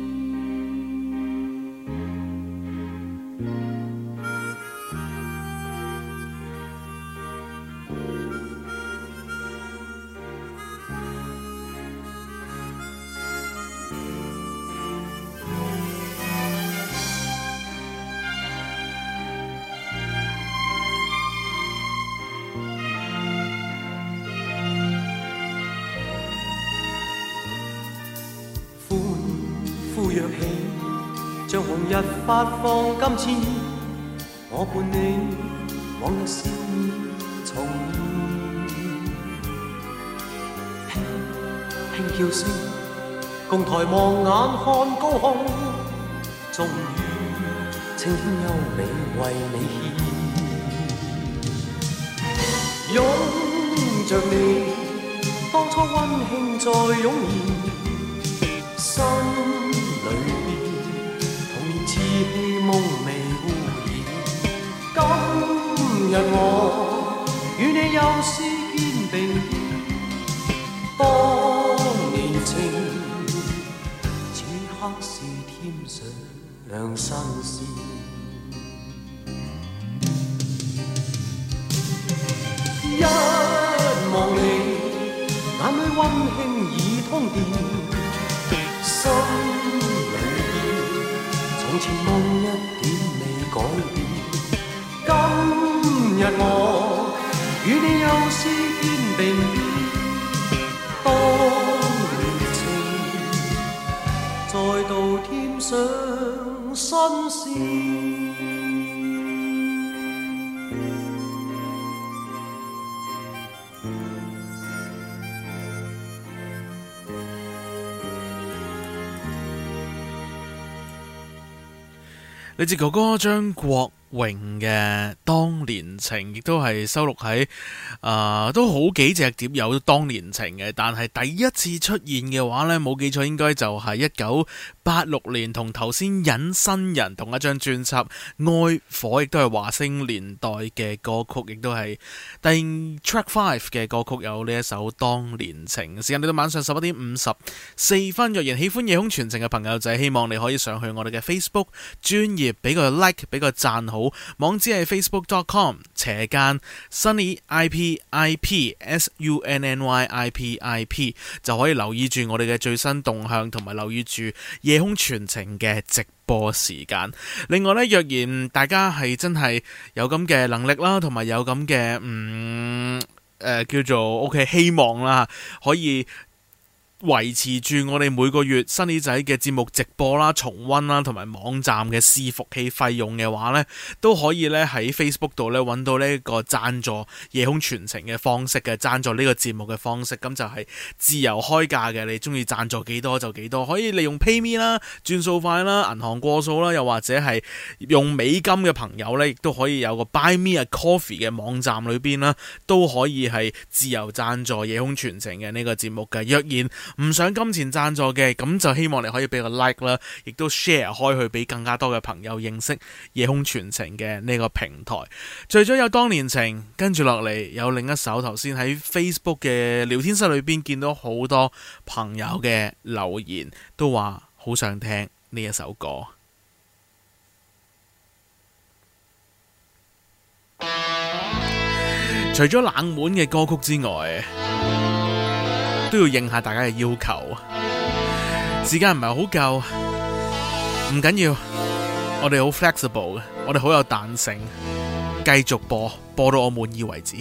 像紅日發放金箭，我伴你往日笑面重現。輕輕叫聲，共抬望眼看高空，終於青天優美為你獻。擁着你，當初溫馨再湧現，心裏稚氣夢未污染。今日我與你又是肩並肩，當年情此刻是添上新鮮。一望你，眼裏溫馨已通電，心從前夢一點未改變。今日我與你又是肩並肩，當年情再度添上新鮮。 嚟自哥哥張國榮嘅《當年情》，亦都係收錄喺啊、呃，都好幾隻碟有《當年情》嘅，但係第一次出現嘅話呢，冇記錯應該就係一九八六年同頭先隱身人同一張專輯《愛火》，亦都係華星年代嘅歌曲，亦都係第 Track Five 嘅歌曲，有呢一首《當年情》。時間嚟到晚上十一點五十四分，若然喜歡夜空傳情嘅朋友仔，希望你可以上去我哋嘅 Facebook 專頁俾個 like， 俾個讚好。網址係 facebook dot com 斜間 Sunny I P I P S U N N Y I P I P 就可以留意住我哋嘅最新動向，同埋留意住夜空傳情嘅直播時間。另外呢，若然大家係真係有咁嘅能力啦，同埋有咁嘅嗯誒、呃、叫做 OK 希望啦，可以維持住我哋每個月新耳仔嘅節目直播啦、重溫啦，同埋網站嘅伺服器費用嘅話呢，都可以咧喺 Facebook 度咧揾到呢個贊助夜空傳情嘅方式嘅，贊助呢個節目嘅方式，咁就係自由開價嘅，你中意贊助幾多就幾多，可以利用 PayMe 啦、轉數快啦、銀行過數啦，又或者係用美金嘅朋友呢，亦都可以有個 Buy Me a Coffee 嘅網站裏邊啦，都可以係自由贊助夜空傳情嘅呢個節目嘅。若然唔想金錢贊助嘅，咁就希望你可以俾個 like 啦，亦都 share 開去俾更加多嘅朋友認識夜空傳情嘅呢個平台。除咗有當年情，跟住落嚟有另一首，頭先喺 Facebook 嘅聊天室裏邊見到好多朋友嘅留言，都話好想聽呢一首歌。除咗冷門嘅歌曲之外，都要應下大家嘅要求。時間唔係好夠，唔緊要，我哋好 flexible 嘅，我哋好有彈性，繼續播，播到我滿意為止。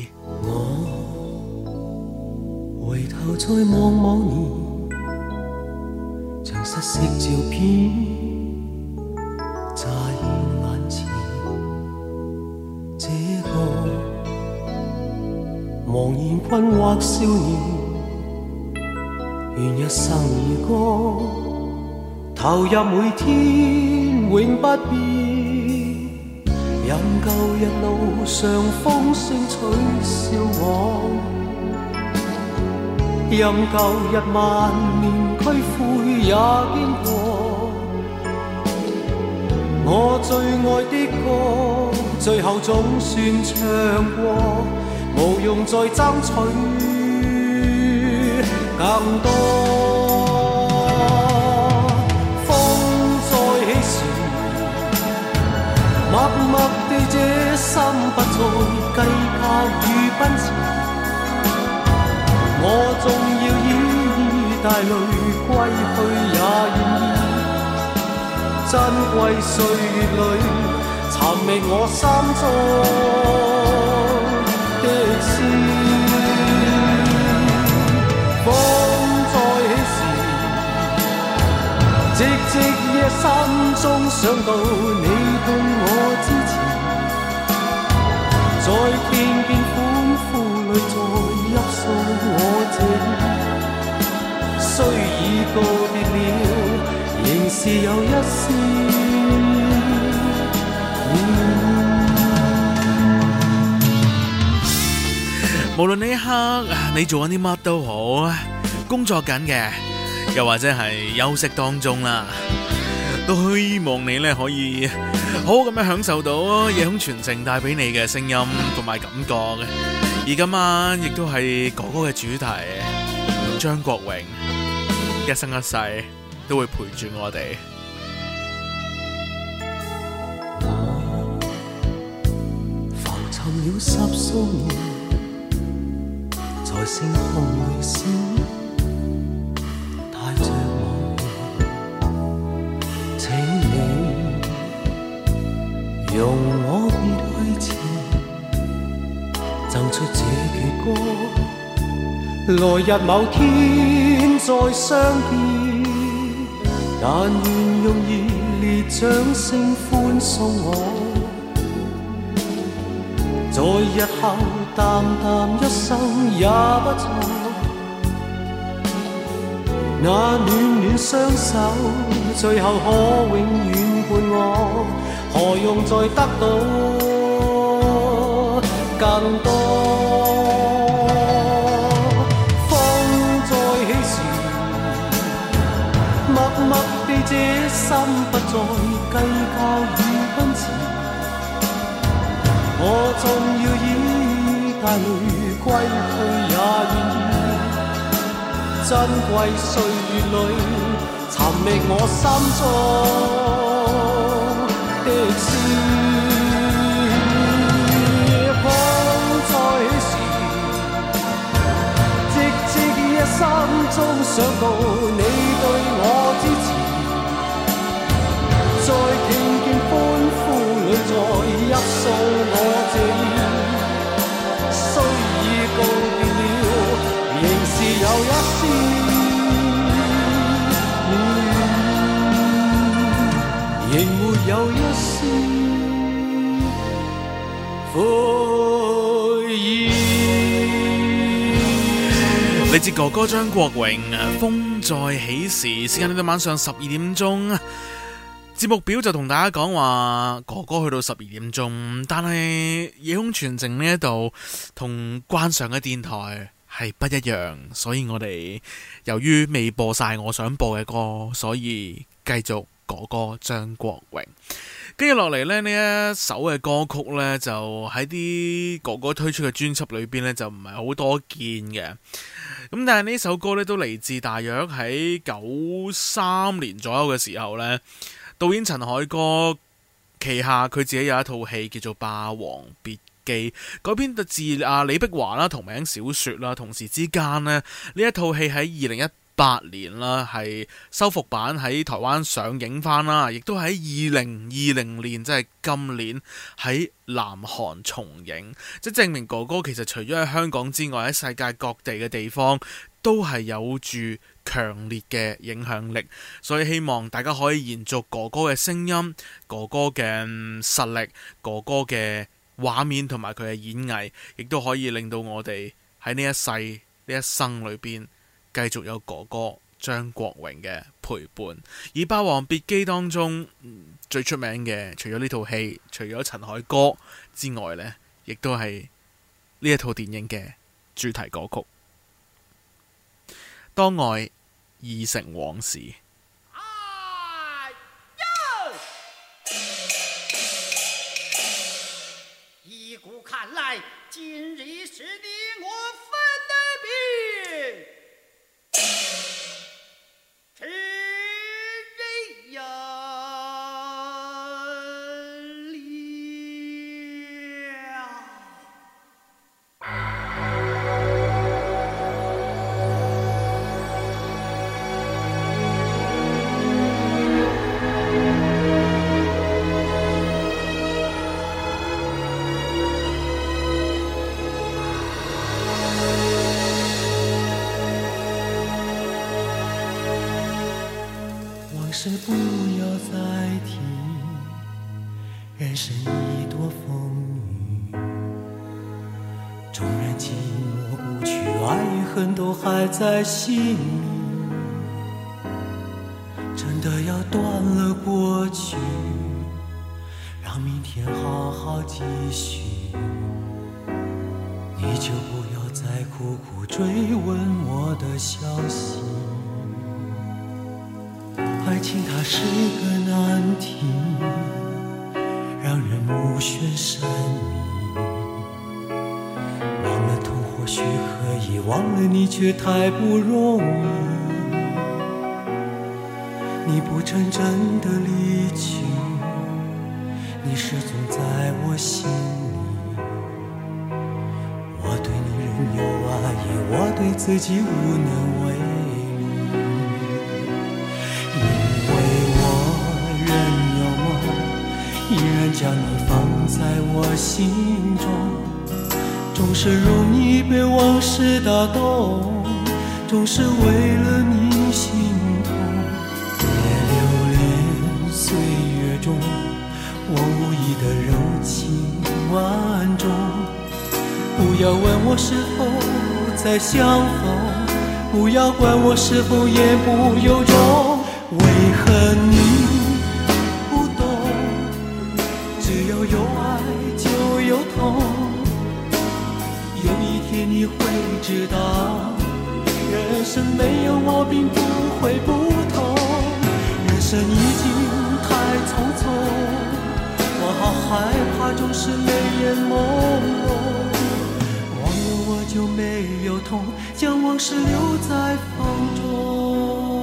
我回頭再望望你，像失色照片乍現眼前，這個茫然困惑少年，願一生兒歌投入每天永不變，任舊日路上風聲取笑我，任舊日萬年區灰也經過，我最愛的歌最後總算唱過，無用再爭取更多。風再起時，默默地這心不再計較與奔馳，我縱要依依帶淚歸去也願意，珍貴歲月裏尋覓我心中的詩。風再起時，寂寂夜心中想到你對我支持，在片片歡呼裏再泣訴我情，雖已告別了，仍是有一絲念。 無論呢一刻你做緊啲乜都好，工作緊嘅，又或者係休息當中啦，都希望你咧可以好好咁樣享受到夜空傳情帶俾你嘅聲音同埋感覺嘅。而今晚亦都係哥哥嘅主題，張國榮一生一世都會陪住我哋。 我浮沉了十數年，在星空裏閃，帶着妄念，請你容我別去前，贈出這闕歌，來日某天再相見，但願用熱烈掌聲歡送我，在日後淡淡一生也不錯，那暖暖雙手最後可永遠伴我，何用再得到更多。風再起時，默默地這心不再計較與奔馳，我縱要依帶淚歸去也願意，珍貴歲月裏尋覓我心中的詩。風再起時，寂寂夜心中想到你對我支持，在聽見歡呼裏再泣訴我情，雖已告別了，仍是有一絲自哥哥張國榮，風再起時，時間去到晚上十二點鐘。節目表就同大家講話，哥哥去到十二點鐘，但係夜空傳情呢一度同慣常嘅電台係不一樣，所以我哋由於未播晒我想播嘅歌，所以繼續哥哥張國榮。跟住落嚟呢，呢一首嘅歌曲呢，就喺啲哥哥推出嘅專輯裏邊呢，就唔係好多見嘅。咁但係呢首歌呢，都嚟自大約喺九三年左右嘅時候呢，導演陳凱歌旗下佢自己有一套戲叫做《霸王別姬》，改編自啊李碧華啦同名小說啦。同時之間呢，呢一套戲喺二零一八年啦，係修復版喺台灣上映翻啦，亦都喺二零二零年，即係今年喺南韓重映，即係證明哥哥其實除咗喺香港之外，喺世界各地嘅地方都係有住強烈嘅影響力，所以希望大家可以延續哥哥嘅聲音、哥哥嘅實力、哥哥嘅畫面同埋佢嘅演藝，亦都可以令到我哋喺呢一世呢一生裏邊繼續有哥哥張國榮嘅陪伴。而《霸王別姬》當中、嗯、最出名嘅，除咗呢套戲，除咗陳凱歌之外呢，亦都係呢一套電影嘅主題歌曲《當愛已成往事》。 依古看來，今日是你我分的別。是人是不要再提，人生已多风雨，纵然寂寞不去，爱与恨都还在心里，真的要断了过去，让明天好好继续，你就不要再苦苦追问我的消息。爱情它是个难题，让人目眩神迷，忘了痛或许可以，忘了你却太不容易。你不曾真的离去，你始终在我心里，我对你仍有爱意，我对自己无能为力。依然将你放在我心中，总是容易被往事打动，总是为了你心痛。别留恋岁月中我无意的柔情万种，不要问我是否再相逢，不要管我是否言不由衷，为何你有爱就有痛，有一天你会知道，人生没有我并不会不同，人生已经太匆匆，我好害怕总是泪眼朦胧，忘了我就没有痛，将往事留在风中。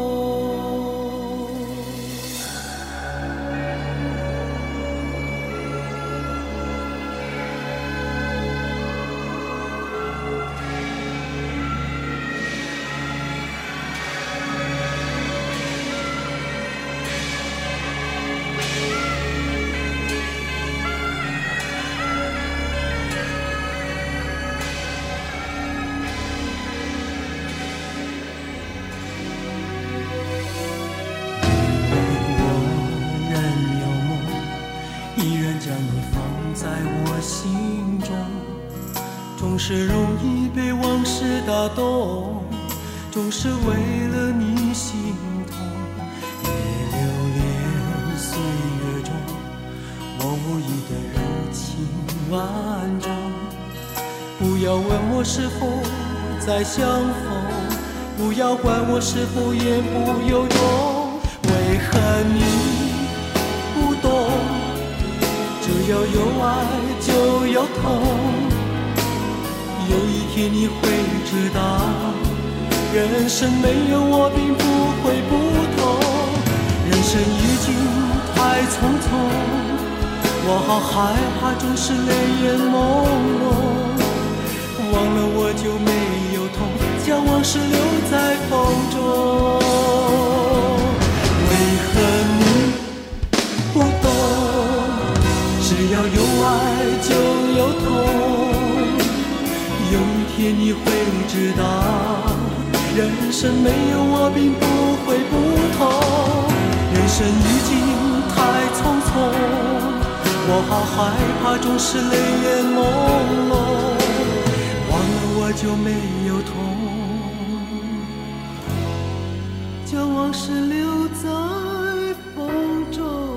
总是容易被往事打动， 总是为了你心痛。别留恋岁月中我无意的柔情万种，不要问我是否再相逢，不要管我是否言不由衷。为何你不懂，只要有爱就有痛，有一天你会知道，人生没有我并不会不同。人生已经太匆匆，我好害怕总是泪眼朦胧，忘了我就没有痛，将往事留在风中。为何你不懂，只要有爱就有痛，有一天你会知道，人生没有我并不会不同。人生已经太匆匆，我好害怕总是泪眼朦胧，忘了我就没有痛，将往事留在风中。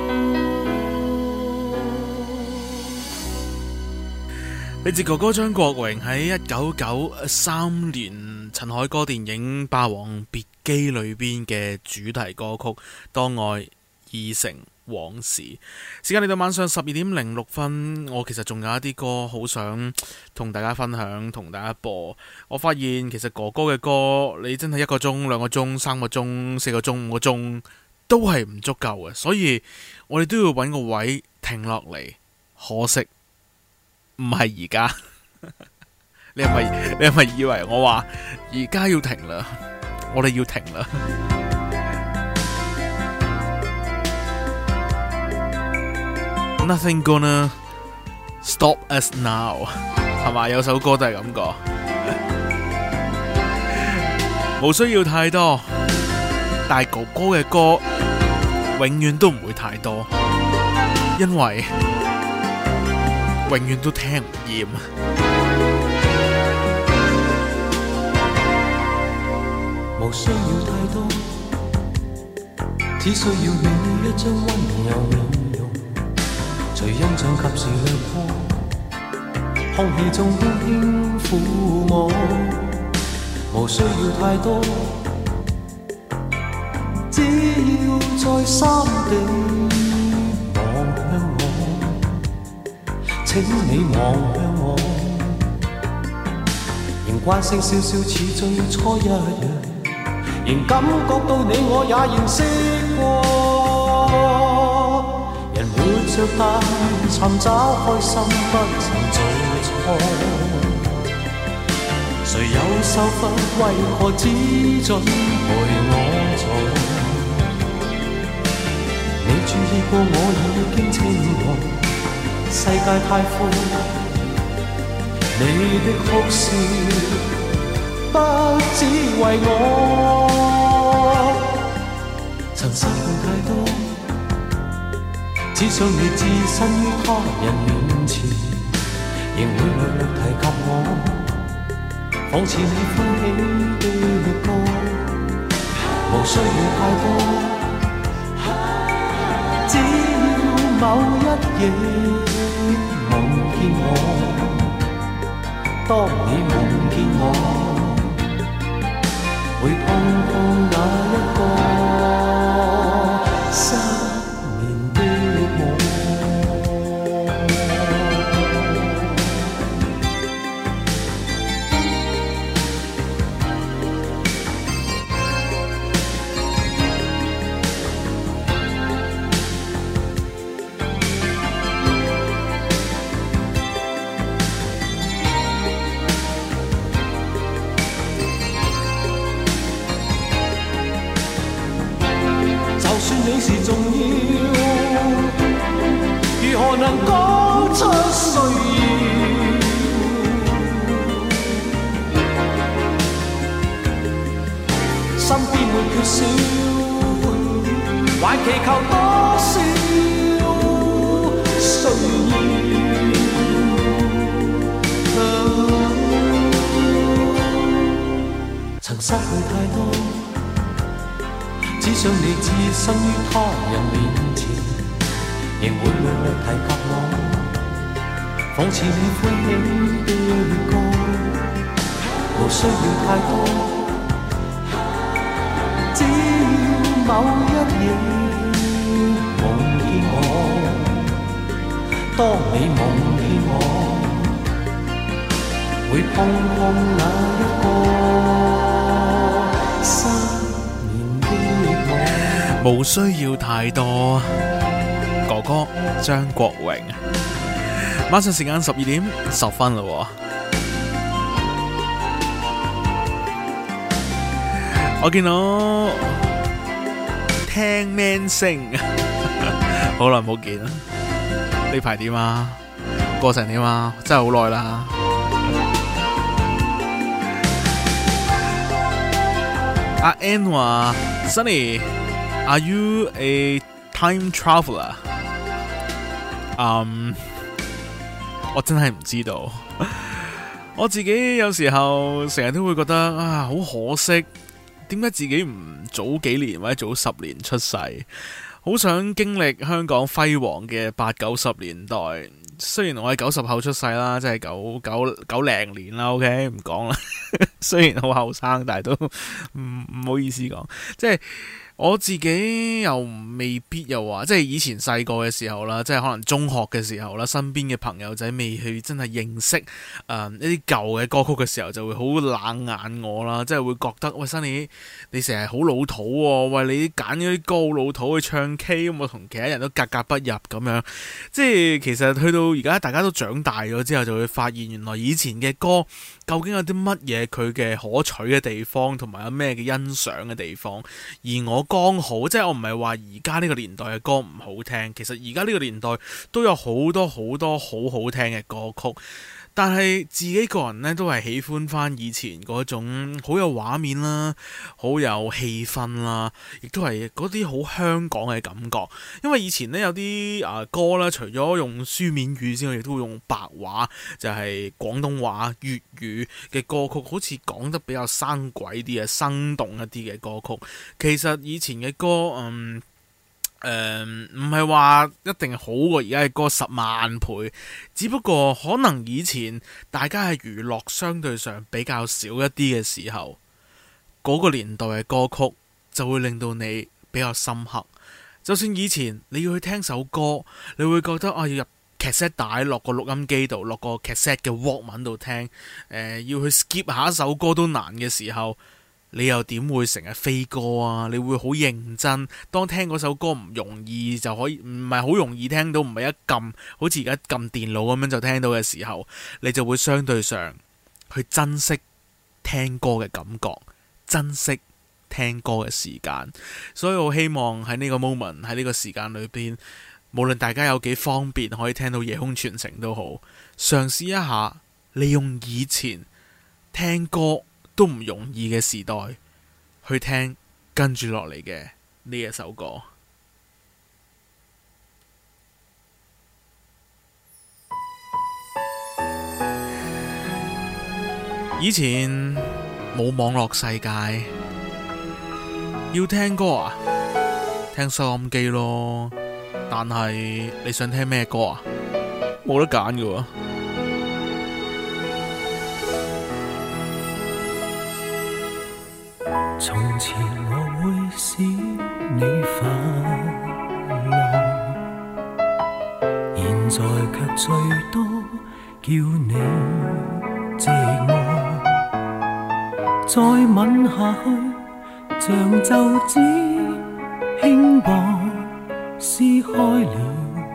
嚟自哥哥張國榮喺一九九三年陳凱歌電影《霸王別姬》裏邊嘅主題歌曲《當愛已成往事》。時間嚟到晚上十二點零六分，我其實仲有一啲歌好想同大家分享，同大家播。我發現其實哥哥嘅歌，你真係一個鐘、兩個鐘、三個鐘、四個鐘、五個鐘都係唔足夠嘅，所以我哋都要揾個位停落嚟。可惜唔係而家，你係咪你係咪以為我話而家要停啦？我哋要停啦。Nothing gonna stop us now， 係嘛？有首歌都係咁講，冇需要太多，但係哥哥嘅歌永遠都唔會太多，因為永遠都聽唔厭。 無需要太多，只需要你一張溫柔面容，隨印象及時掠過，空氣中輕輕撫摸。無需要太多，只要再三地望向我，請你望向我，仍慣性笑笑似最初一樣，仍感覺到你我也認識過。人活着但尋找開心不曾做錯，誰有受罰為何只准陪我做？你注意過我已經清楚，世界太闊，你的哭笑不只為我，曾失去太多，只想你置身於他人面前，仍會略略提及我，仿似你歡喜的歌。無需要太多，只要某一夜夢見我，當你夢見我，會碰碰那一個失眠的我。你是重要，如何能講出需要？身邊沒缺少，還祈求多少需要？曾失失去太多，只想你置身於他人面前，仍會略略提及我，仿似你歡喜的歌，無需要太多，只要某一夜夢見我，當你夢見我，會碰碰那一個失眠的我。 無需要太多，哥哥張國榮。晚上時間十二點十分啦，我見到聽 man 聲，好耐冇見啦。呢排點啊？過成點啊？真係好耐啦。阿 N 話 Sunny，Are you a time traveler？ 嗯、um, 我真係唔知道。我自己有時候成日都會覺得啊，好可惜，點解自己唔早幾年或者早十年出世？好想經歷香港輝煌嘅八九十年代。雖然我係九十後出世啦，即係九九九零年啦 ，OK 唔講啦。雖然好後生，但係都唔唔好意思講，即係。我自己又未必又話，即係以前細個嘅時候啦，即係可能中學嘅時候啦，身邊嘅朋友仔未去真係認識誒、呃、一啲舊嘅歌曲嘅時候，就會好冷眼我啦，即係會覺得喂Sunny，你成日好老土喎、哦，喂你揀嗰啲歌好老土去唱 K， 咁我同其他人都格格不入咁樣。即係其實去到而家大家都長大咗之後，就會發現原來以前嘅歌究竟有啲乜嘢佢嘅可取嘅地方，同埋有咩嘅欣賞嘅地方，而我剛好，即係我唔係話而家呢個年代嘅歌唔好聽，其實而家呢個年代都有好多好多好好聽嘅歌曲，但係自己個人呢，都係喜歡翻以前嗰種好有畫面啦，好有氣氛啦，亦都係嗰啲好香港嘅感覺。因為以前呢，有啲啊歌啦，除咗用書面語之外，亦都會用白話，就係廣東話、粵語嘅歌曲，好似講得比較生鬼啲嘅、生動一啲嘅歌曲。其實以前嘅歌，嗯。誒唔係話一定好過而家嘅歌十萬倍，只不過可能以前大家係娛樂相對上比較少一啲嘅時候，嗰、嗰個年代嘅歌曲就會令到你比較深刻。就算以前你要去聽首歌，你會覺得啊要入 cassette 帶落個錄音機度，落個 cassette 嘅 Walkman 度聽，呃，要去 skip 下一首歌都難嘅時候，你又點會成日飛歌啊？你會好認真，當聽嗰首歌唔容易就可以，唔係好容易聽到，唔係一撳好似而家撳電腦咁樣就聽到嘅時候，你就會相對上去珍惜聽歌嘅感覺，珍惜聽歌嘅時間。所以我希望喺呢個 moment， 喺呢個時間裏邊，無論大家有幾方便可以聽到夜空傳情都好，嘗試一下利用以前聽歌都唔容易嘅時代去聽跟住落嚟嘅呢一首歌。以前冇網絡世界，要聽歌啊，聽收音機咯。但係你想聽咩歌啊？冇得揀㗎喎。 從前我會使你快樂，現在卻最多叫你寂寞。再吻下去，像皺紙輕薄，撕開了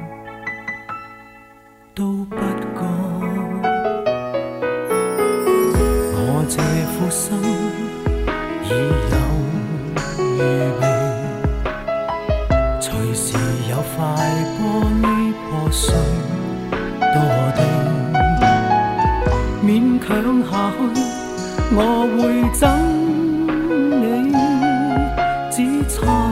都不覺。我這副心已有預備，隨時有塊玻璃破碎墮地，勉強下去，我會憎你，只差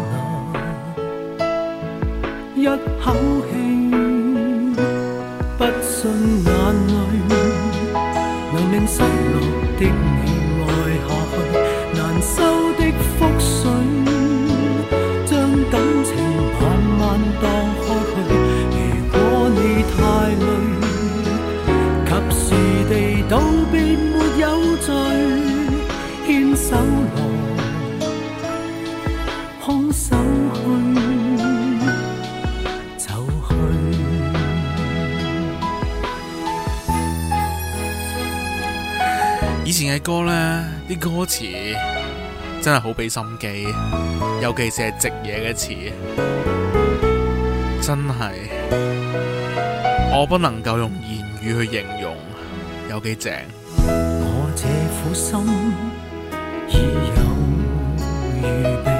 那一口氣，不信眼淚能令失落的你愛下去。難前嘅歌呢，啲歌詞真係好俾心機，尤其是係直嘢嘅詞，真係我不能夠用言語去形容有幾正。 我這苦心已有預備，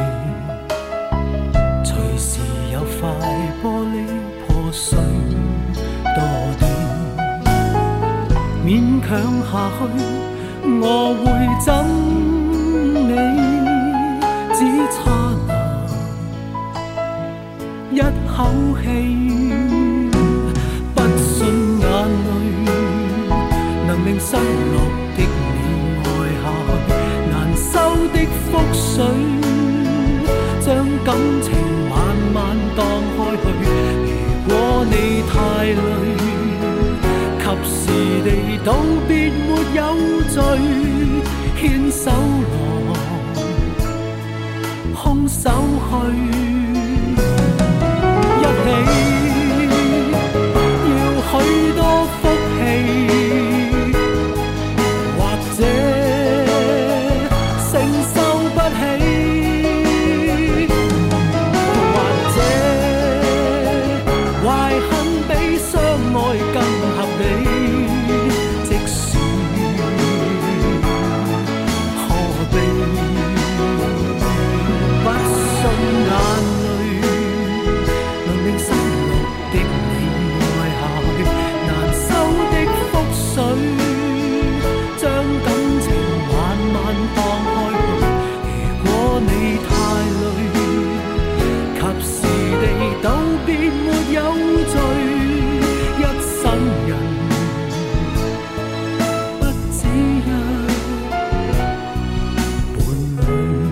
隨時有塊玻璃破碎多點，勉強下去我會憎你，只差那一口氣，不信眼淚能令失落的你愛下去，難收的覆水將感情慢慢蕩開去，如果你太累及時地道別沒有罪，牽手來空手去，一起要許多福氣，或者承受不起，或者懷恨比相愛更合理，即使何必不信眼淚能令失落的你愛下去，難收的覆水將感情慢慢蕩開去，如果你太累及時地道別沒有罪，一生人不止一伴侶。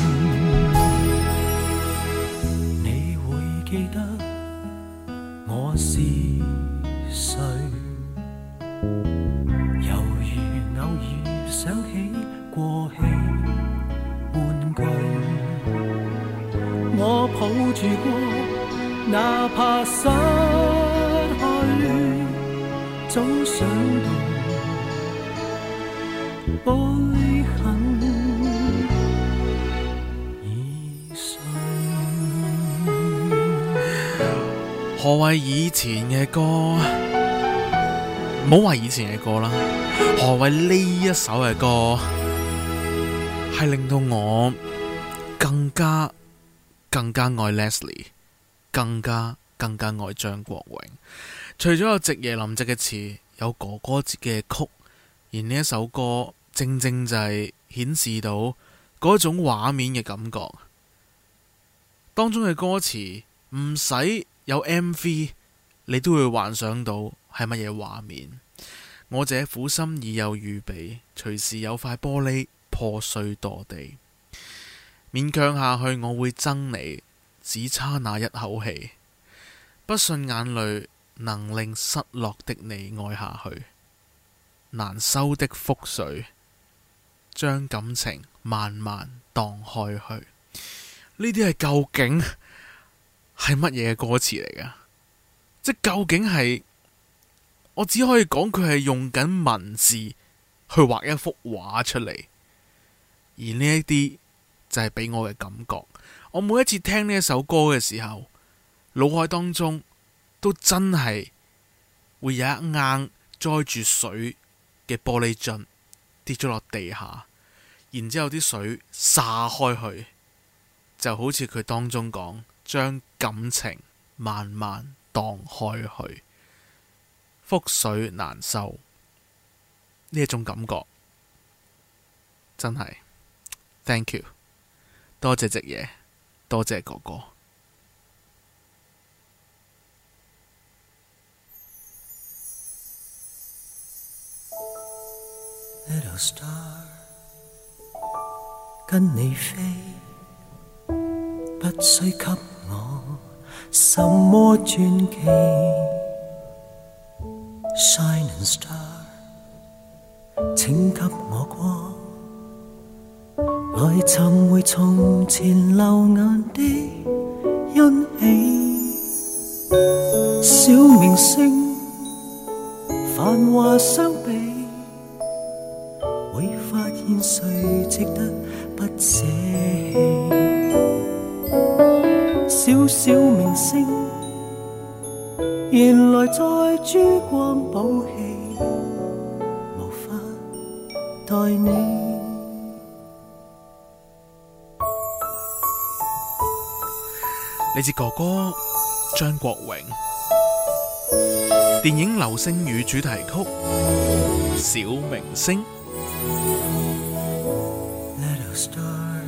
你會記得我是誰，猶如偶爾想起過氣玩具，我抱住過，哪怕失去，總想到玻璃痕已碎。 何謂以前嘅歌？唔好話以前嘅歌啦，何謂呢一首嘅歌係令到我更加更加愛 Leslie， 更加更加愛張國榮。除咗有夕夜林夕嘅詞，有哥哥自己嘅曲，而呢一首歌正正就係顯示到嗰種畫面嘅感覺。當中嘅歌詞唔使有 M V， 你都會幻想到係乜嘢畫面。我這苦心已有預備，隨時有塊玻璃破碎墮地，勉強下去我會憎你，只差那一口氣，不信眼淚能令失落的你愛下去，難收的覆水將感情慢慢蕩開去。呢啲係究竟係乜嘢嘅歌詞嚟㗎？即究竟係，我只可以講佢係用緊文字去畫一幅畫出嚟，而呢一啲就係俾我嘅感覺。我每一次聽呢一首歌嘅時候，腦海當中都真係會有一啱載住水嘅玻璃樽跌咗落地下，然之後啲水灑開去，就好似佢當中講，將感情慢慢蕩開去，覆水難收，呢一種感覺真係 Thank you， 多謝夕夜，多謝哥哥。 Little star， 跟你飛，不需給我什麼傳奇。Shining star， 請給我光，來尋回從前流眼的欣喜。小明星繁華相比，會誰值得不捨棄？小小明星，原來在珠光寶氣，無法待你。 嚟自哥哥張國榮，電影《流星雨》主題曲《小明星》。 Little star，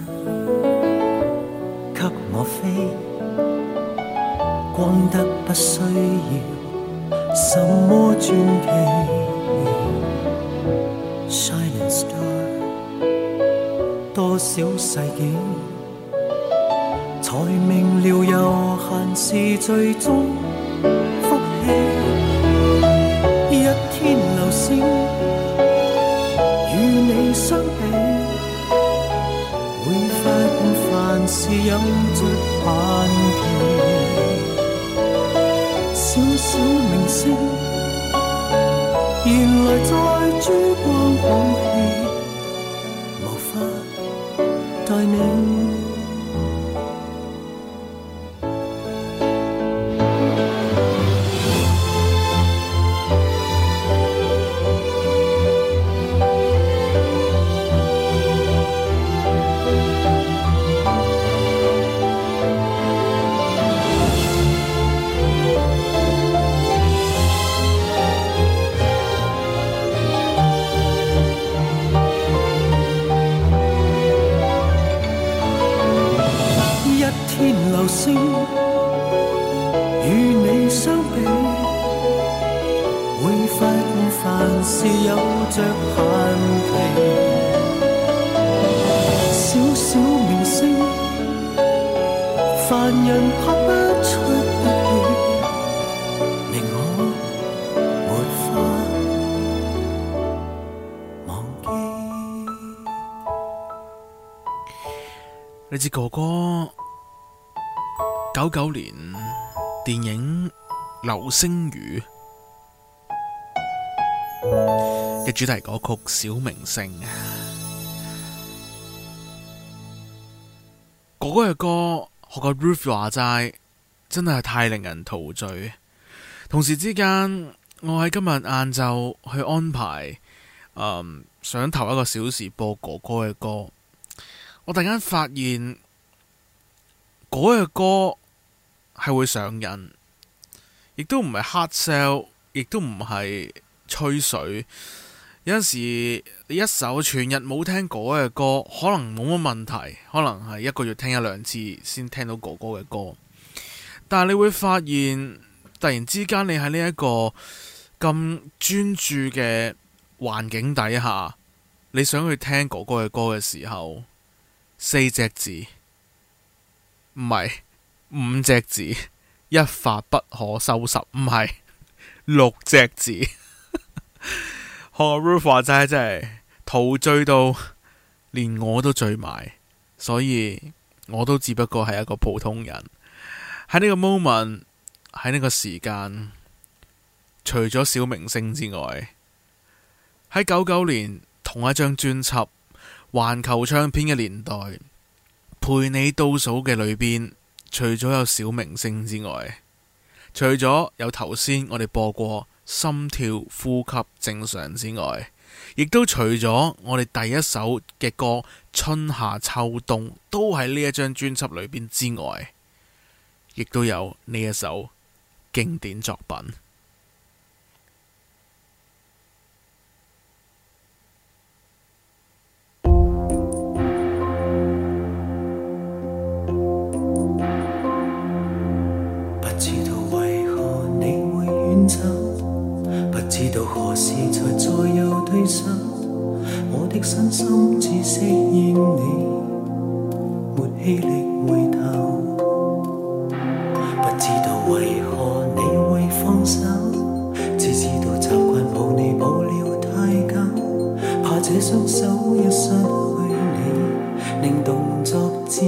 給我飛，光得不需要什麼傳奇。Shining star， 多少世紀，才明了悠閒是最終福氣。一天流星與你相比，會發現凡事有着限期。小小明星，原來在珠光寶氣，無法待你。流星與你相比，會發現凡事有着限期。小小明星，凡人拍不出的戲，令我沒法忘記。 你知哥哥九九年電影《流星雨》嘅主題歌曲《小明星》，哥哥嘅歌學個 Ruth 話齋，真係太令人陶醉。同時之間，我喺今日晏晝去安排，嗯，想頭一個小時播哥哥嘅歌，我突然間發現哥哥嘅歌係會上癮，亦都唔係 hard sell， 亦都唔係吹水。有陣時你一首全日冇聽哥哥嘅歌，可能冇乜問題，可能係一個月聽一兩次先聽到哥哥嘅歌。但係你會發現，突然之間你喺呢一個咁專注嘅環境底下，你想去聽哥哥嘅歌嘅時候，四隻字，唔係五隻字，一發不可收拾，唔係六隻字。學 Ruth 話齋真係陶醉到連我都醉埋，所以我都只不過係一個普通人。喺呢個 moment， 喺呢個時間，除咗小明星之外，喺九九年同一張專輯環球唱片嘅年代，陪你倒數嘅裏邊，除咗有小明星之外，除咗有頭先我哋播過心跳呼吸正常之外，亦都除咗我哋第一首嘅歌春夏秋冬都喺呢一張專輯裏邊之外，亦都有呢一首經典作品。 不知道何時才再有對手，我的身心只適應你，沒氣力回頭。不知道為何你會放手，只知道習慣抱你抱了太久，怕這雙手一失去你，令動作顫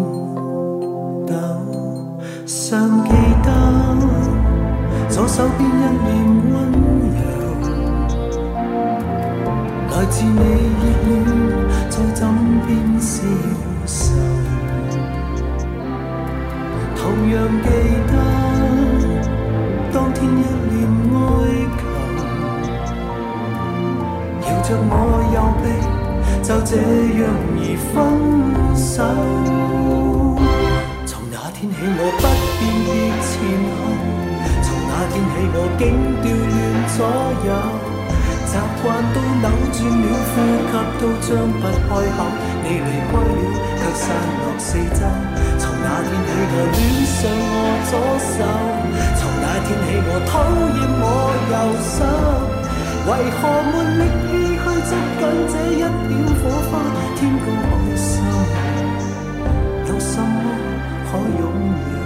抖。尚記得左手邊一臉溫柔，來自你熱戀着我右臂，就這樣而分手。從那天起我不辨別前後，從那天起我竟調亂左右，習慣都扭轉了，呼吸都張不開口。你離開了，卻散落四周。從那天起我戀上我左手，從那天起我討厭我右手。為何沒力氣去捉緊這一點火花？天高海深，有什麼可擁有？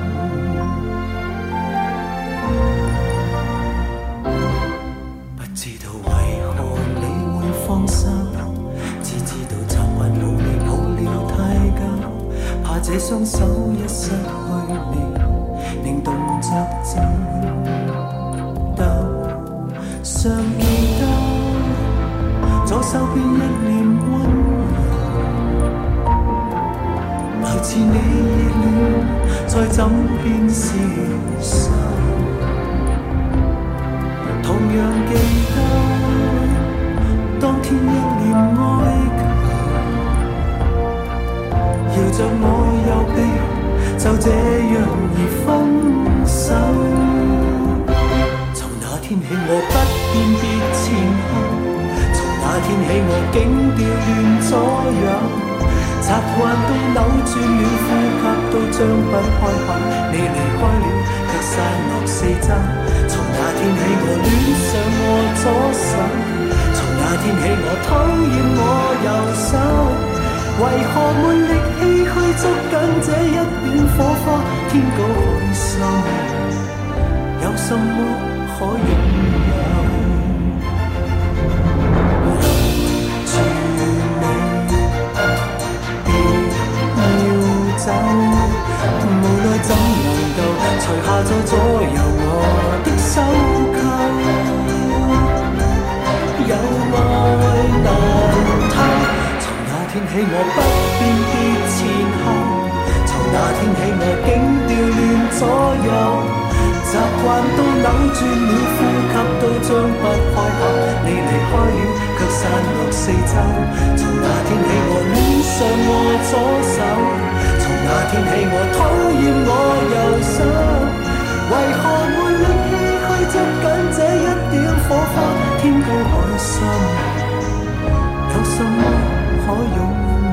不知道為何你會放手，只知道習慣努力抱了太久，怕這雙手一失去你，令動作顫抖。尚記得左手邊一臉溫柔，來自你熱戀在枕邊消瘦。同樣記得當天一臉哀求，搖着我右臂，就這樣而分手。從那天起我不辨別前後，從那天起我竟調亂左右，習慣都扭轉了，呼吸都張不開口。你離開了，卻散落四周。從那天起我戀上我左手，從那天起我討厭我右手。為何沒力氣去捉緊這一點火花？天高海深，有什麼可擁有？留住你，別要走。無奈怎能夠除下咗左右我的手扣？有愛難偷。從那天起我不辨別前後，從那天起我竟調亂左右。習慣都扭轉了，呼吸都張不開口。你離開了，卻散落四周。從那天起我戀上我左手，從那天起我討厭我右手。為何沒力氣去捉緊這一點火花？天高海深，有什麼可擁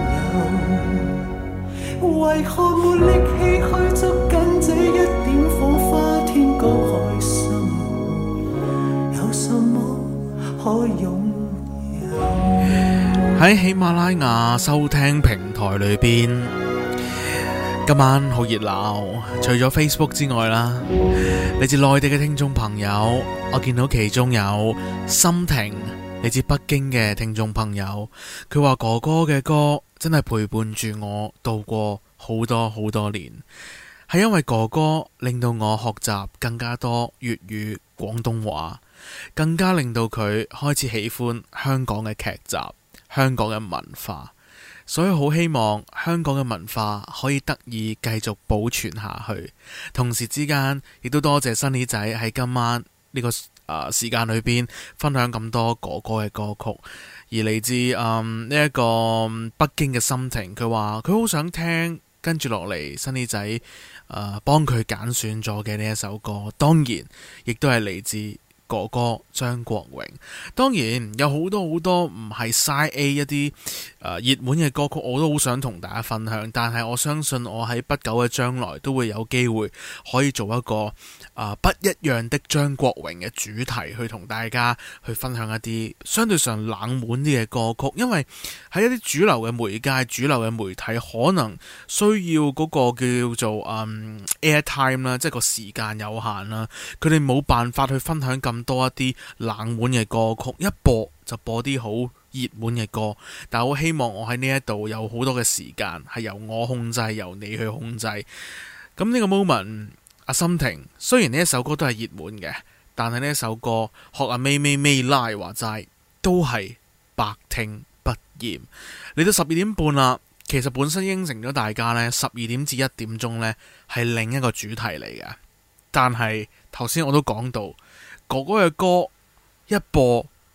有？為何沒力氣去捉緊這一點火花？天高海深，有什麼可擁有？ 喺喜馬拉雅收聽平台裏邊，今晚好熱鬧。除咗 Facebook 之外啦，嚟自內地嘅聽眾朋友，我見到其中有心婷，嚟自北京嘅聽眾朋友，佢話哥哥嘅歌真係陪伴住我度過好多好多年，係因為哥哥令到我學習更加多粵語廣東話，更加令到佢開始喜歡香港嘅劇集、香港嘅文化，所以好希望香港嘅文化可以得以繼續保存下去。同時之間亦都多謝Sunny仔喺今晚呢個誒時間裏邊分享咁多哥哥嘅歌曲。而嚟自誒呢一個北京嘅心情，佢話佢好想聽跟住落嚟Sunny仔誒幫佢揀選咗嘅呢一首歌，當然亦都係嚟自哥哥張國榮。當然有好多好多唔係 Side A 一啲誒熱門嘅歌曲，我都好想同大家分享。但係我相信我喺不久嘅將來都會有機會可以做一個誒、呃、不一樣的張國榮嘅主題，去同大家去分享一啲相對上冷門啲嘅歌曲。因為喺一啲主流嘅媒介、主流嘅媒體，可能需要嗰個叫做、嗯、airtime 啦，即係個時間有限啦，佢哋冇辦法去分享咁多一啲冷門嘅歌曲，一播就播啲好熱門嘅歌。但我希望我喺呢一度有好多嘅時間係由我控制，由你去控制。咁呢個 moment， 阿心婷雖然呢一首歌都係熱門嘅，但係呢一首歌學阿咪咪咪拉話齋都係百聽不厭。嚟到十二點半啦，其實本身應承咗大家呢，十二點至一點鐘呢係另一個主題嚟嘅，但係頭先我都講到哥哥嘅歌一播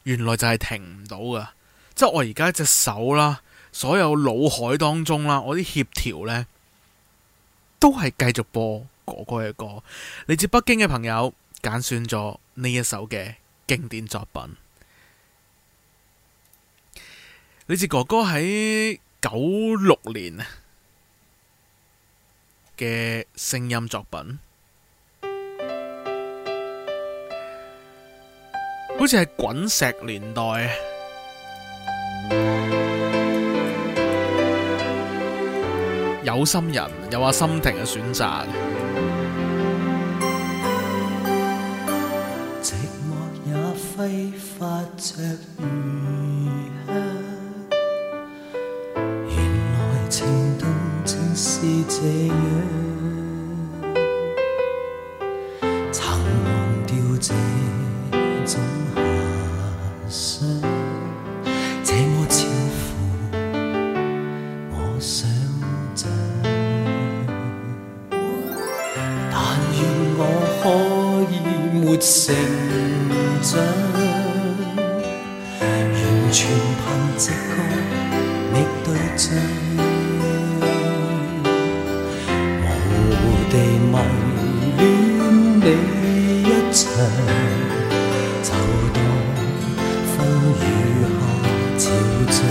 原來就係停唔到噶。即係我而家隻手啦，所有腦海當中啦，我啲協調呢都係繼續播哥哥嘅歌。嚟自北京嘅朋友揀選咗呢一首嘅經典作品。嚟自哥哥喺九六年嘅聲音作品，好似係滾石年代。有心人有阿心婷嘅選擇。 寂寞也揮發着餘香，原來情動正是這樣，曾忘掉這種遐想，這麼超乎我想象，但願我可以沒成長，完全憑直覺覓對象，無地迷戀你一場，就當風雨下潮漲。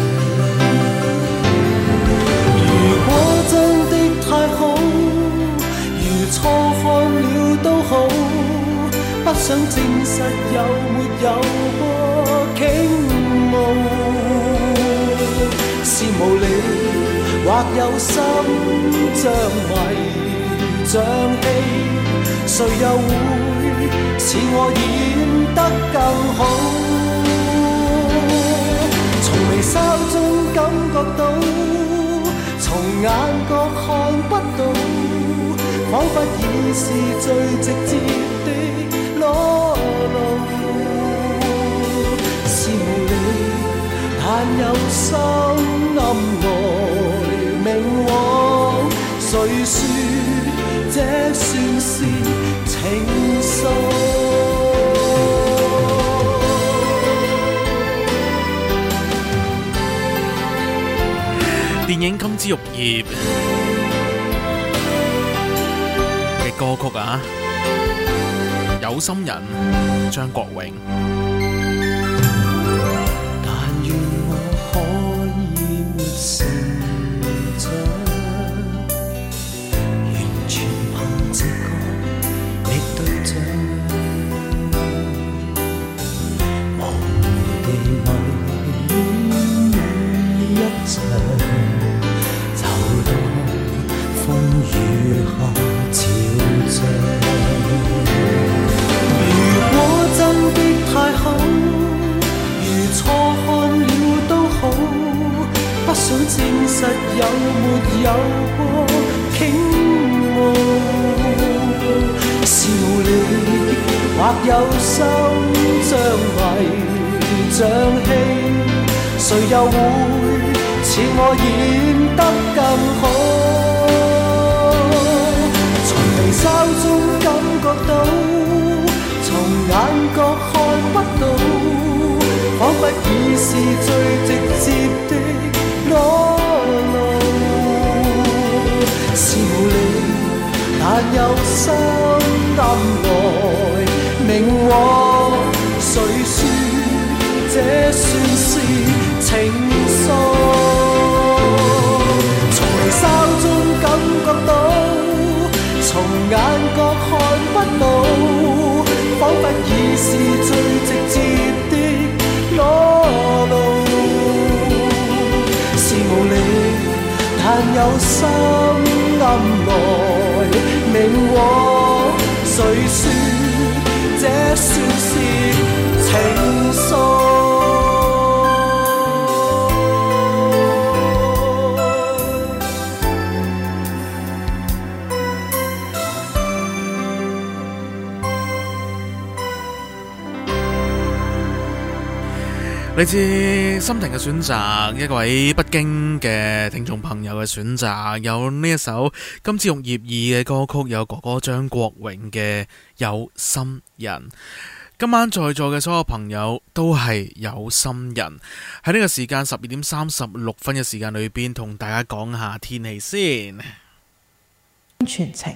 如果真的太好，如錯看了都好，不想證實有沒有過傾慕。是無理或有心像迷像戲，誰又會似我演得更好？從微笑中感覺到，從眼角看不到，彷彿已是最直接的裸露。是無理，但有心暗來明往，誰說這算是情愫？ 電影《金枝玉葉》嘅歌曲啊，有心人張國榮。 但願我可以沒成長，完全憑直覺覓對象，無地迷戀你一場，就當風雨下潮漲。如果真的太好，如錯看了都好，不想證實有沒有過傾慕。是無理或有心像迷像戲，誰又會似我演得更好？從微笑中感覺到，從眼角看不到，彷彿已是最直接的裸露。是無理，但有心暗來明往，誰說這算是情愫？從微笑中感覺到，從眼角看不到，彷彿已是最直接的裸露。是無理，但有心暗來明往，誰說這算是情愫？ 嚟自心婷嘅選擇，一位北京嘅聽眾朋友嘅選擇，有呢一首《金枝玉葉二》嘅歌曲，有哥哥張國榮嘅《有心人》。 今晚在座嘅所有朋友都係有心人，喺呢個時間十二點三十六分嘅時間裏邊，同大家講下天氣先。 全程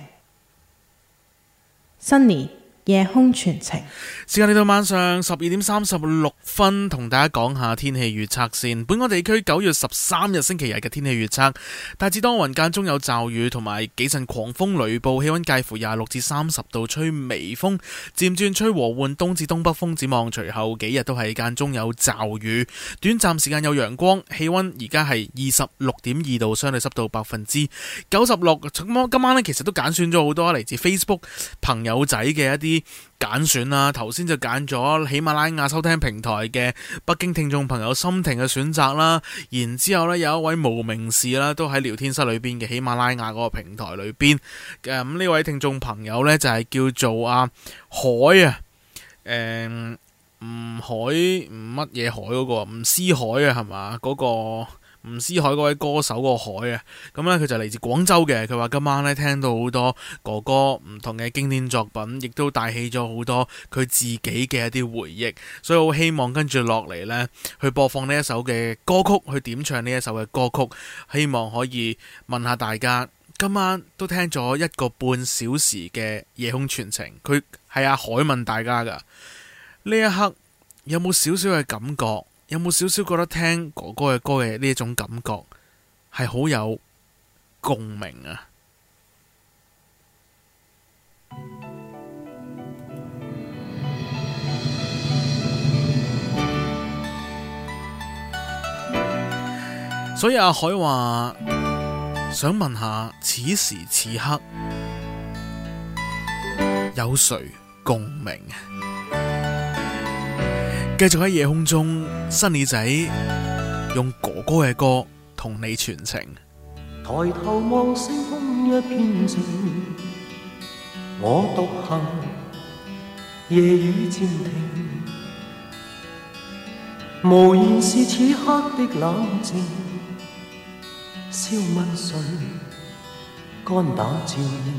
Sunny 夜空傳情， 時間嚟到晚上十二點三十六分，同大家講下天氣預測先。本港地區九月十三日星期日嘅天氣預測，大致多雲，間中有驟雨同埋幾陣狂風雷暴，氣溫介乎廿六至三十度，吹微風，漸轉吹和緩東至東北風。展望隨後幾日都係間中有驟雨，短暫時間有陽光，氣溫而家係二十六點二度，相對濕度百分之九十六。咁今晚呢，其實都揀選咗好多嚟自 Facebook 朋友仔嘅一啲揀選啦，頭先就揀咗喜馬拉雅收聽平台嘅北京聽眾朋友心婷嘅選擇啦，然之後呢，有一位無名氏啦，都喺聊天室裏邊嘅喜馬拉雅嗰個平台裏邊，咁、嗯、呢位聽眾朋友呢，就係、是、叫做阿、啊、海啊，誒、嗯，吳海吳乜嘢海嗰、那個吳思海啊，係嘛嗰個？吳思海嗰位歌手個海啊，咁呢，佢就嚟自廣州嘅。佢話今晚呢，聽到好多哥哥唔同嘅經典作品，亦都帶起咗好多佢自己嘅一啲回憶，所以我希望跟住落嚟呢，去播放呢一首嘅歌曲，去點唱呢一首嘅歌曲，希望可以問下大家，今晚都聽咗一個半小時嘅夜空傳情，佢係阿海問大家噶，呢一刻有冇少少嘅感覺？有冇少少覺得聽哥哥嘅歌嘅呢一種感覺係好有共鳴啊？所以阿海話想問下，此時此刻有誰共鳴？繼續喺夜空中，新耳仔用哥哥嘅歌同你傳情。 抬頭望星空一片靜，我獨行，夜雨漸停，無言是此刻的冷靜，消mất水，肝膽照應，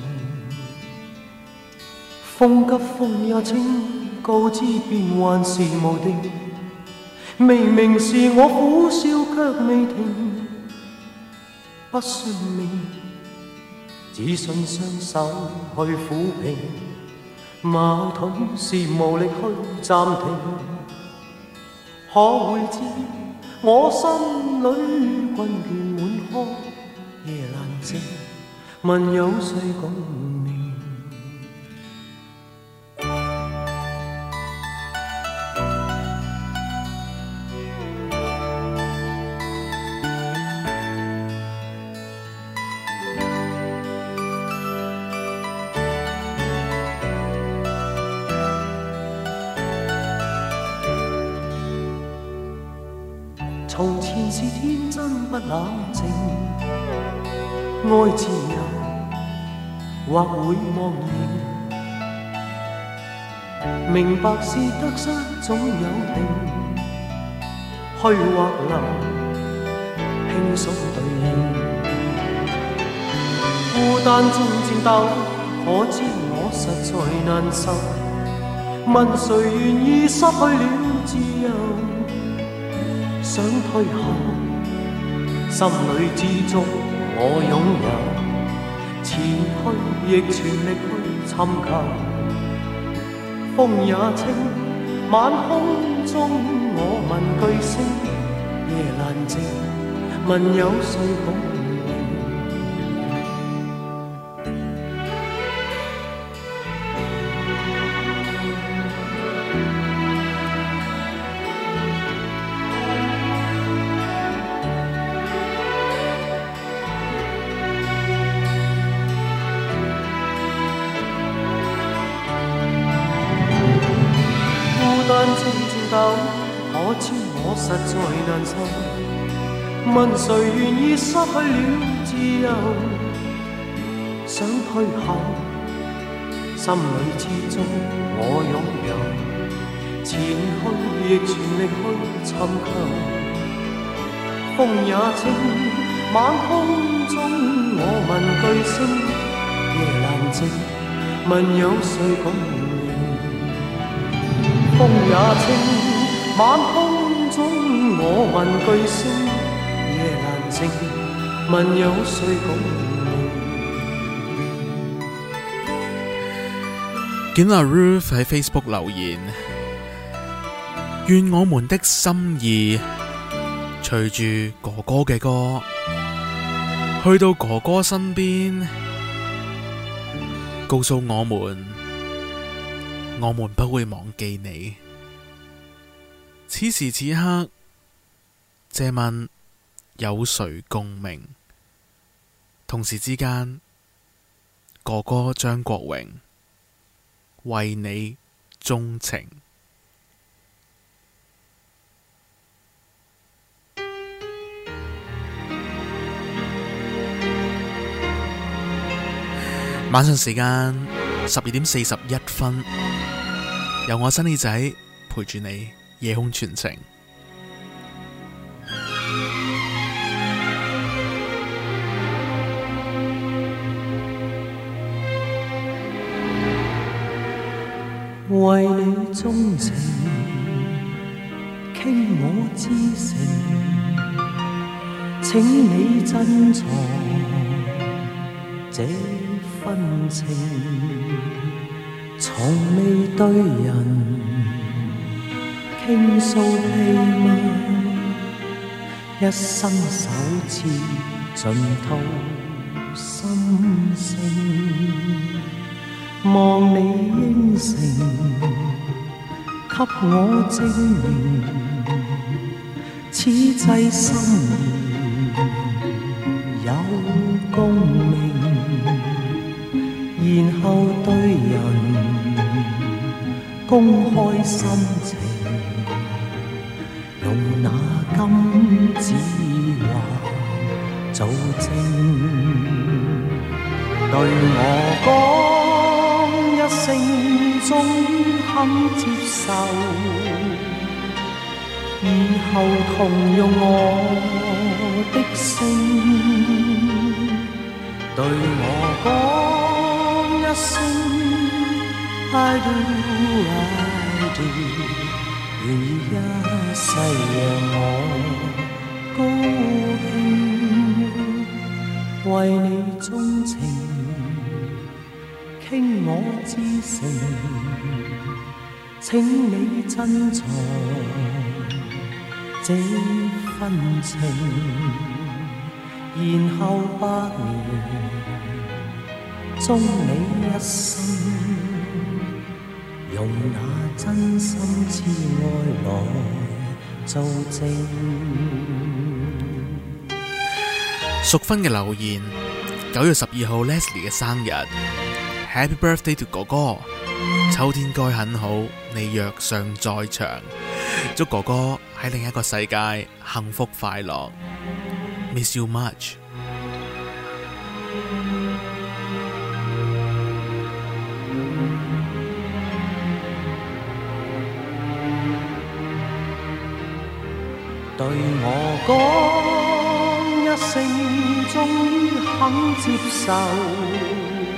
風急風也清，告知變幻是無定，明明是我苦笑卻未停，不信命，只信雙手去撫平，矛盾是無力去暫停，可會知我心裏困倦滿腔，夜闌靜，問有誰共鳴？從前是天真不冷靜，愛自由或會忘形，明白是得失總有定，虛或流，輕鬆對應，孤單中戰鬥，可知我實在難受，問誰願意失去了自由？想退後，心裏知足我擁有，前去亦全力去尋求。風也清，晚空中我問句星，夜闌靜，問有誰共鳴？可知我實在難受，問誰願意失去了自由？想退後，心裏知足我擁有，前去亦全力去尋求。風也清，晚空中我問句星，夜闌靜，問有誰共鳴？ 風也清，晚空中我問句聲，夜闌靜，問有誰共鳴？ 見阿 Ruth 喺 Facebook 留言，願我們的心意隨住哥哥嘅歌，去到哥哥身邊，告訴我們，我們不會忘記你。此時此刻，借問有誰共鳴？同時之間，哥哥張國榮為你鍾情。晚上時間十二點四十一分，由我新耳仔陪住你夜空傳情。 為你鍾情，傾我至誠，請你珍藏這份情，從未對人傾訴秘密，一生首次盡吐心聲。望你應承，給我證明，此際心意有共鳴，然後對人公開心情，用那金子畫做證，對我講一聲終於肯接受，以後同用我的姓，對我講一聲 I do I do， 願意一世讓我高興，為你鍾情，傾我至誠，請你珍藏這份情，然後百年終你一生，用那真心摯愛來做證。 淑芬嘅留言，九月十二號 Leslie 嘅生日。Happy birthday to 哥哥，秋天該很好，你若尚在場，祝哥哥喺另一個世界幸福快樂 ，Miss you much。 對我講一聲，終於肯接受。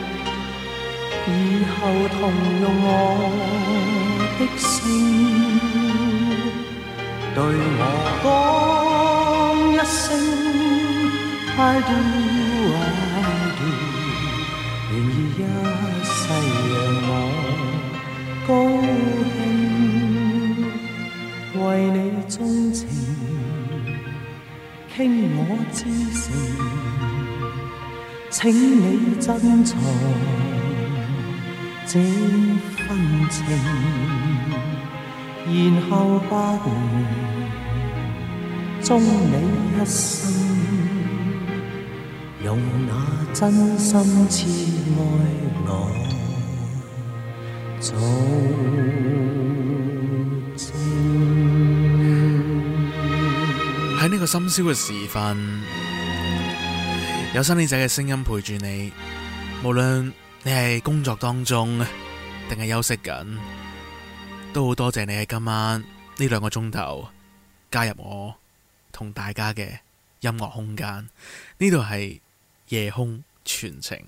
以後同用我的姓，對我講一聲 I do I do， 願意一世讓我高興，為你鍾情，傾我至誠，請你珍藏這份情，然後百年終你一生，用那真心摯愛來做證。 喺呢個深宵嘅時分，有新耳仔嘅聲音陪住你，無論你係工作當中定係休息緊，都好多謝你喺今晚呢兩個鐘頭加入我同大家嘅音樂空間。呢度係夜空傳情。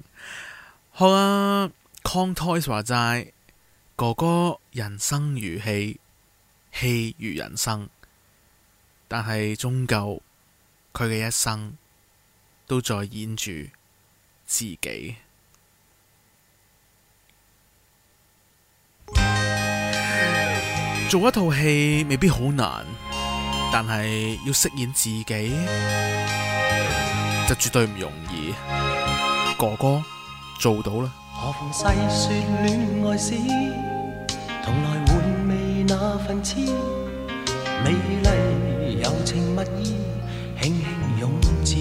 好啊，Con Toys 話齋，哥哥人生如戲， 戲如人生，但係終究佢嘅一生都在演住自己。做一套戲未必好難，但係要飾演自己就絕對唔容易。哥哥做到啦。 何妨細說戀愛史，同來回味那份痴，美麗柔情蜜意，輕輕湧至。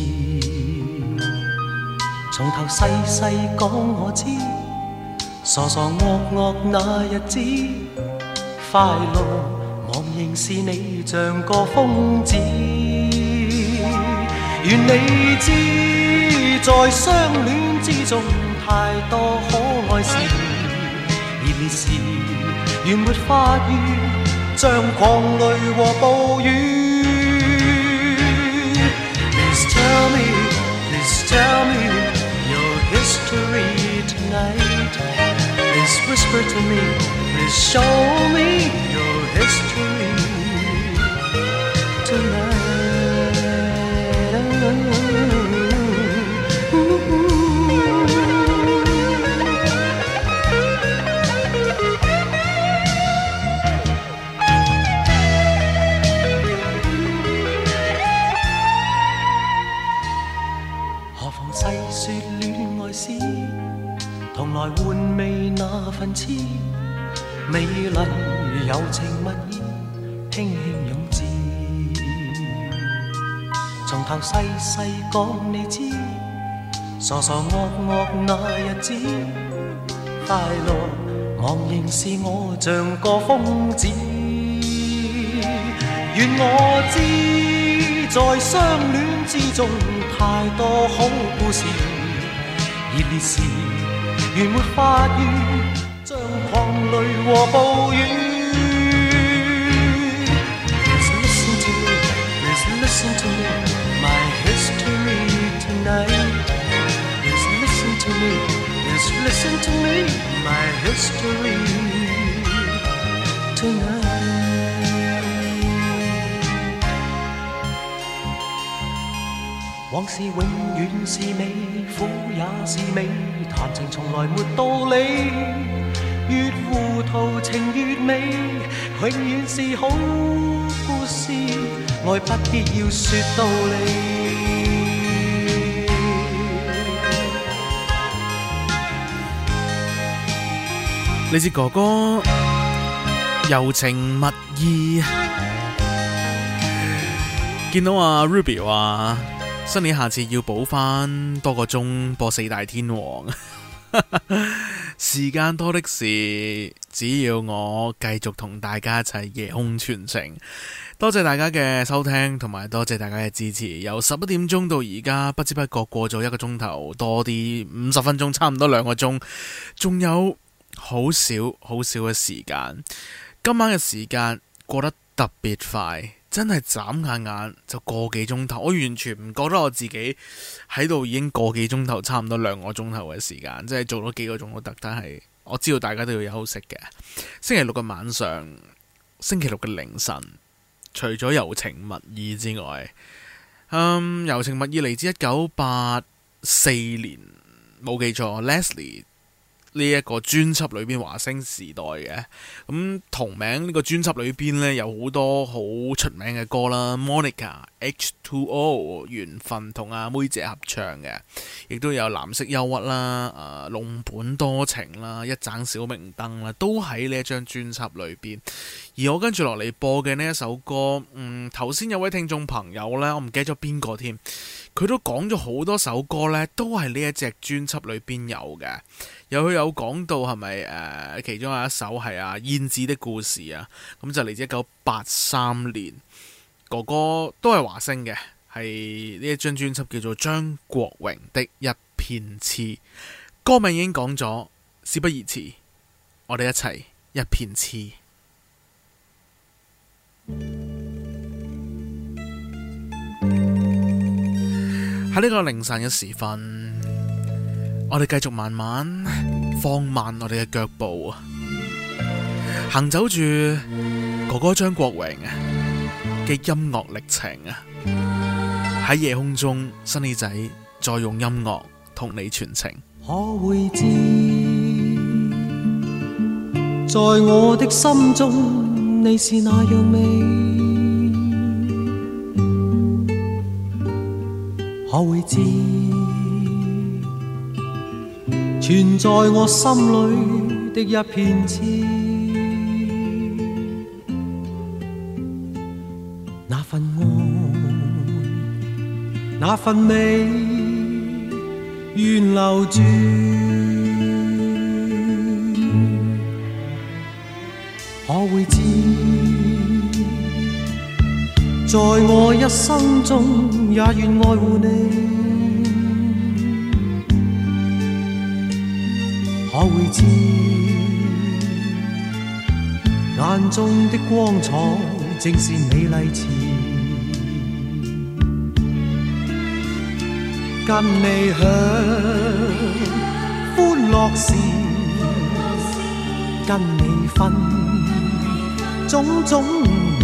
從頭細細講我知，傻傻惡惡那日子，快樂茫然是你像個瘋子。願你知，在相戀之中太多可愛事，熱烈時原沒法語，像狂雷和暴雨。Please tell me, please tell me your history tonight. Please whisper to me, please show me your history tonight. 何妨細說戀愛史，同來回味那份痴，美麗柔情蜜意，輕輕湧至。從頭細細講你知，傻傻惡惡那日子，快樂茫然是我像個瘋子。願我知，在相戀之中太多好故事，熱烈時原沒法語，像狂雷和暴雨。Please listen to me, please listen to me, my history tonight. Please listen to me, please listen to me, my history tonight. 往事永遠是美，苦也是美，談情從來沒道理，越糊塗情越美，永遠是好故事，愛不必要說道理。 你知哥哥柔情蜜意，見到阿 Ruby 話新年下次要補翻多個鐘播四大天王，時間多的是，只要我繼續同大家一齊夜空傳情。多謝大家嘅收聽，同埋多謝大家嘅支持。由十一點鐘到而家，不知不覺過咗一個鐘頭多啲，五十分鐘，差唔多兩個鐘，仲有好少好少嘅時間。今晚嘅時間過得特別快。真係眨下眼就個幾鐘頭，我完全唔覺得我自己喺度已經個幾鐘頭，差唔多兩個鐘頭嘅時間，即係做咗幾個鐘都得。但係我知道大家都要休息嘅。星期六嘅晚上，星期六嘅凌晨，除咗柔情蜜意之外，嗯，柔情蜜意嚟自一九八四年，冇記錯 Leslie。呢一個專輯裏邊華星時代嘅咁同名呢個專輯裏邊呢，有好多好出名嘅歌啦 Monica H two O 緣分同阿妹姐合唱嘅，亦都有藍色憂鬱啦、呃、弄本多情啦、一盞小明燈啦，都喺呢一張專輯裏邊。而我跟住落嚟播嘅呢一首歌，嗯，頭先有位聽眾朋友呢，我唔記得咗邊個添，佢都講咗好多首歌呢，都係呢一隻專輯裏邊有嘅。有佢有講到係咪誒其中有一首係啊燕子的故事啊，咁就嚟自一九八三年，哥哥都係華星嘅，係呢一張專輯叫做張國榮的一片痴，歌名已經講咗，事不宜遲，我哋一齊一片痴。喺呢個凌晨嘅時分，我哋繼續慢慢放慢我哋嘅腳步，行走住哥哥張國榮嘅音樂歷程啊，喺夜空中，新耳仔再用音樂同你傳情。 可會知，在我的心中，你是那樣美。可會知，存在我心裏的一片痴。那份愛，那份美，願留住。可會知，在我一生中也願愛護你。可會知，眼中的光彩正是美麗詞。跟你享歡樂時，跟你分種種美，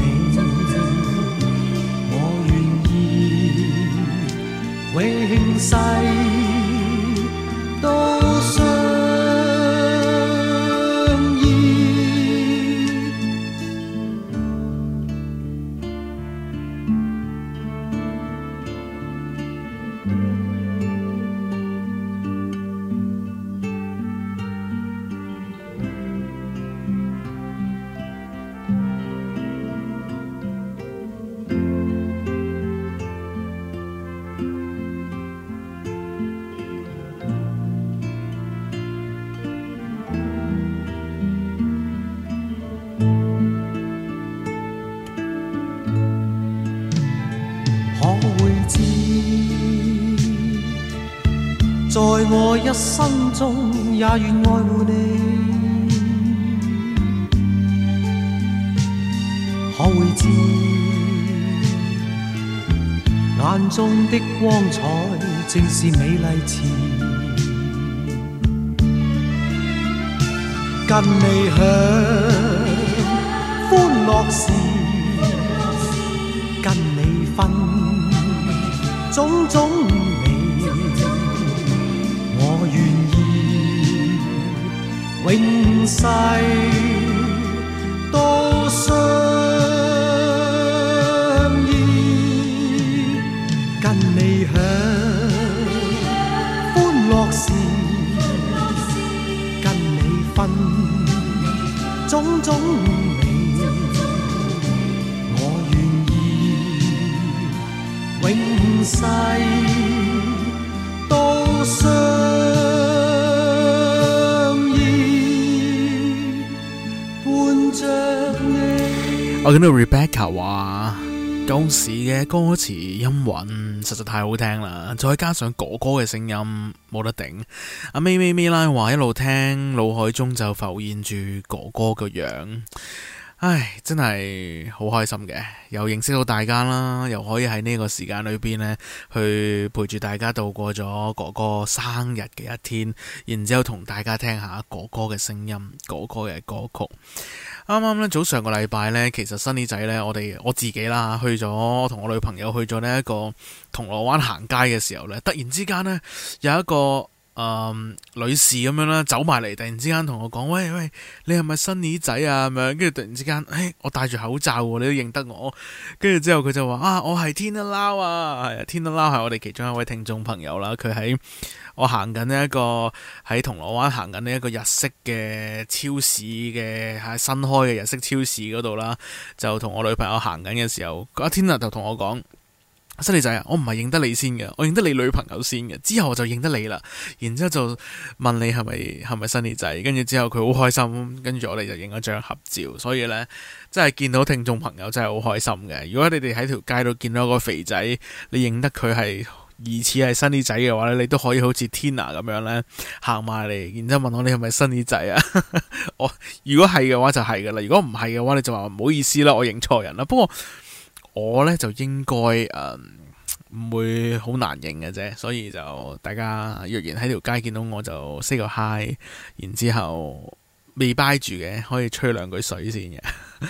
我願意永世都相依。在我一生中也願愛護你。可會知，眼中的光彩正是美麗詞。跟你享歡樂時，跟你分種種我願意永世都相依。跟你享歡樂時，跟你分種種美，我願意永世都相我見到 Rebecca 話舊時嘅歌詞音韻實在太好聽啦，再加上哥哥嘅聲音冇得頂。阿咪咪咪啦話一路聽腦海中就浮現住哥哥個樣，唉，真係好開心嘅，又認識到大家啦，又可以喺呢個時間裏邊呢去陪住大家度過咗哥哥生日嘅一天，然之後同大家聽下哥哥嘅聲音，哥哥嘅歌曲。啱啱咧早上個禮拜呢，其實新耳仔呢，我哋我自己啦，去咗同我女朋友去咗呢一個銅鑼灣行街嘅時候呢，突然之間呢，有一個誒、呃、女士咁樣啦走埋嚟，突然之間同我講：喂喂，你係咪新耳仔啊？咁樣，跟住突然之間，誒，我戴住口罩，你都認得我。跟住之後佢就話：啊，我係 Tina Lau 啊，係啊 Tina Lau 係我哋其中一位聽眾朋友啦。佢喺我行緊呢一個喺銅鑼灣行緊呢一個日式嘅超市嘅喺新開嘅日式超市嗰度啦，就同我女朋友行緊嘅時候，阿 Tina 就同我講：新耳仔啊，我唔係認得你先嘅，我認得你女朋友先嘅，之後我就認得你啦。然之後就問你係咪係咪新耳仔，跟住之後佢好開心，跟住我哋就影咗張合照。所以呢，真係見到聽眾朋友真係好開心嘅。如果你哋喺條街度見到一個肥仔，你認得佢係疑似係新耳仔嘅話咧，你都可以好似 Tina 咁樣咧行埋嚟，然之後問我你係咪新耳仔啊？我如果係嘅話就係噶啦，如果唔係嘅話你就話唔好意思啦，我認錯人啦。不過我咧就應該誒唔會好難認嘅啫，所以就大家若然喺條街見到我就 say 個 hi，然之後未 bye 住嘅可以吹兩句水先嘅。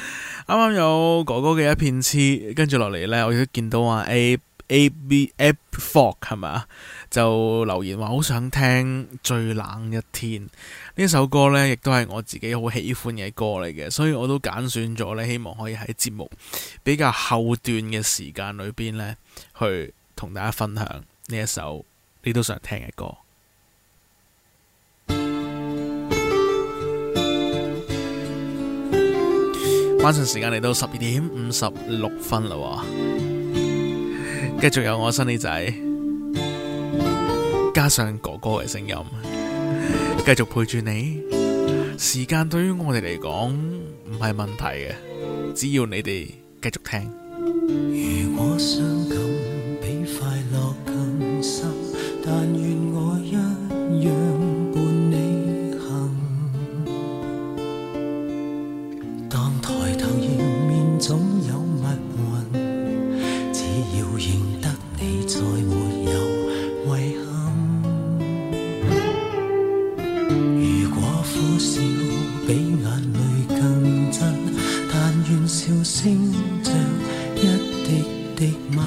啱啱有哥哥嘅一片痴，跟住落嚟呢，我亦都見到啊 A A B F Fox 係咪啊？就留言話好想聽最冷一天呢首歌呢，亦都係我自己好喜歡嘅歌嚟嘅，所以我都揀選咗呢，希望可以喺節目比較後段嘅時間裏邊呢，去同大家分享呢一首你都想聽嘅歌。晚上時間嚟到十二點五十六分啦，繼續有我新李仔，加上哥哥嘅聲音，繼續陪住你。時間對於我哋嚟講唔係問題嘅，只要你哋繼續聽。 如果傷感比快樂更深，但願我一樣伴你行。當抬頭迎面總有密雲，只要認得你再沒有遺憾。如果苦笑比眼淚更真，但願笑聲像一滴滴吻。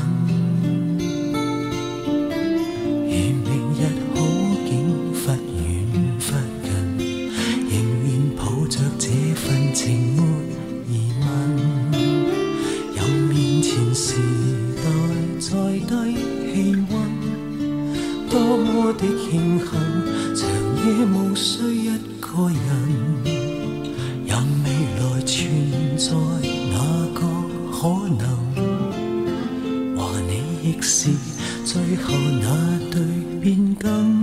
如明日好景忽遠忽近，仍願抱着這份情沒疑問。任面前時代再低氣溫，多麼的慶幸，長夜無需一個人。任未來存在哪個可能，話你亦是最後那對變更。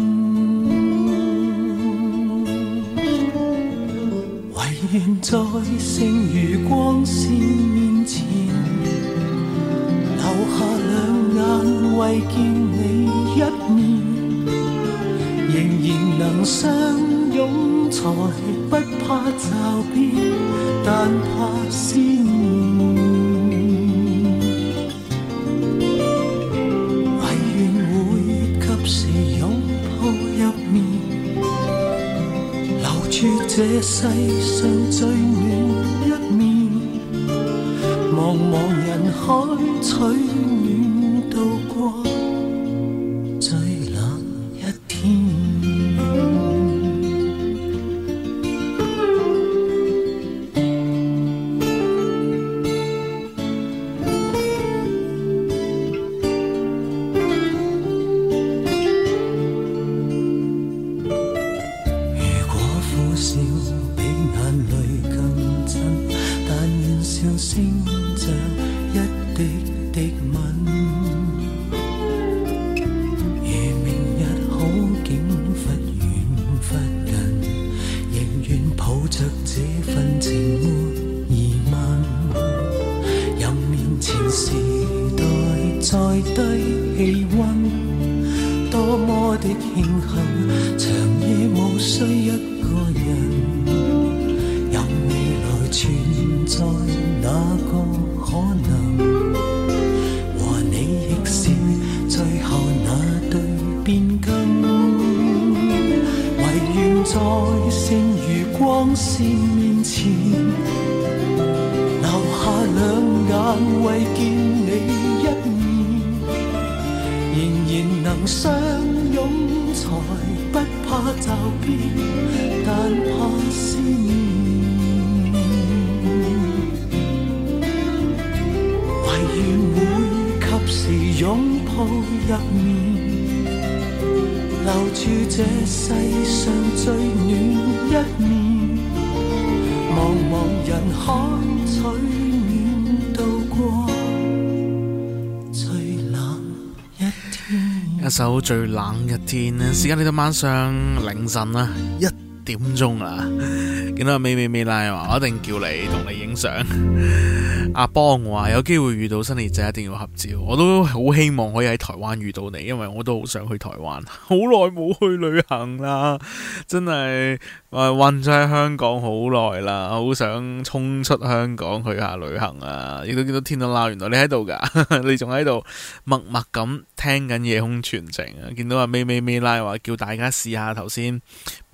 唯願在剩餘光線面前，留下兩眼為見你一面，仍然能相擁才不怕驟變，但怕思念。唯願會及時擁抱入眠，留住這世上最暖一面，茫茫人海取暖度過最冷一天。 一首最冷嘅天，時間嚟到晚上凌晨啦，一點鐘啦。見到阿美美美拉話我一定叫你同你影相。阿邦話有機會遇到新李仔一定要合照，我都好希望可以喺台灣遇到你，因為我都好想去台灣，好耐冇去旅行啦，真係困咗喺香港好耐啦，好想衝出香港去下旅行啊！亦都見到天都撈，原來你喺度㗎，你仲喺度默默咁聽緊夜空傳情啊！見到阿美美美拉話叫大家試下頭先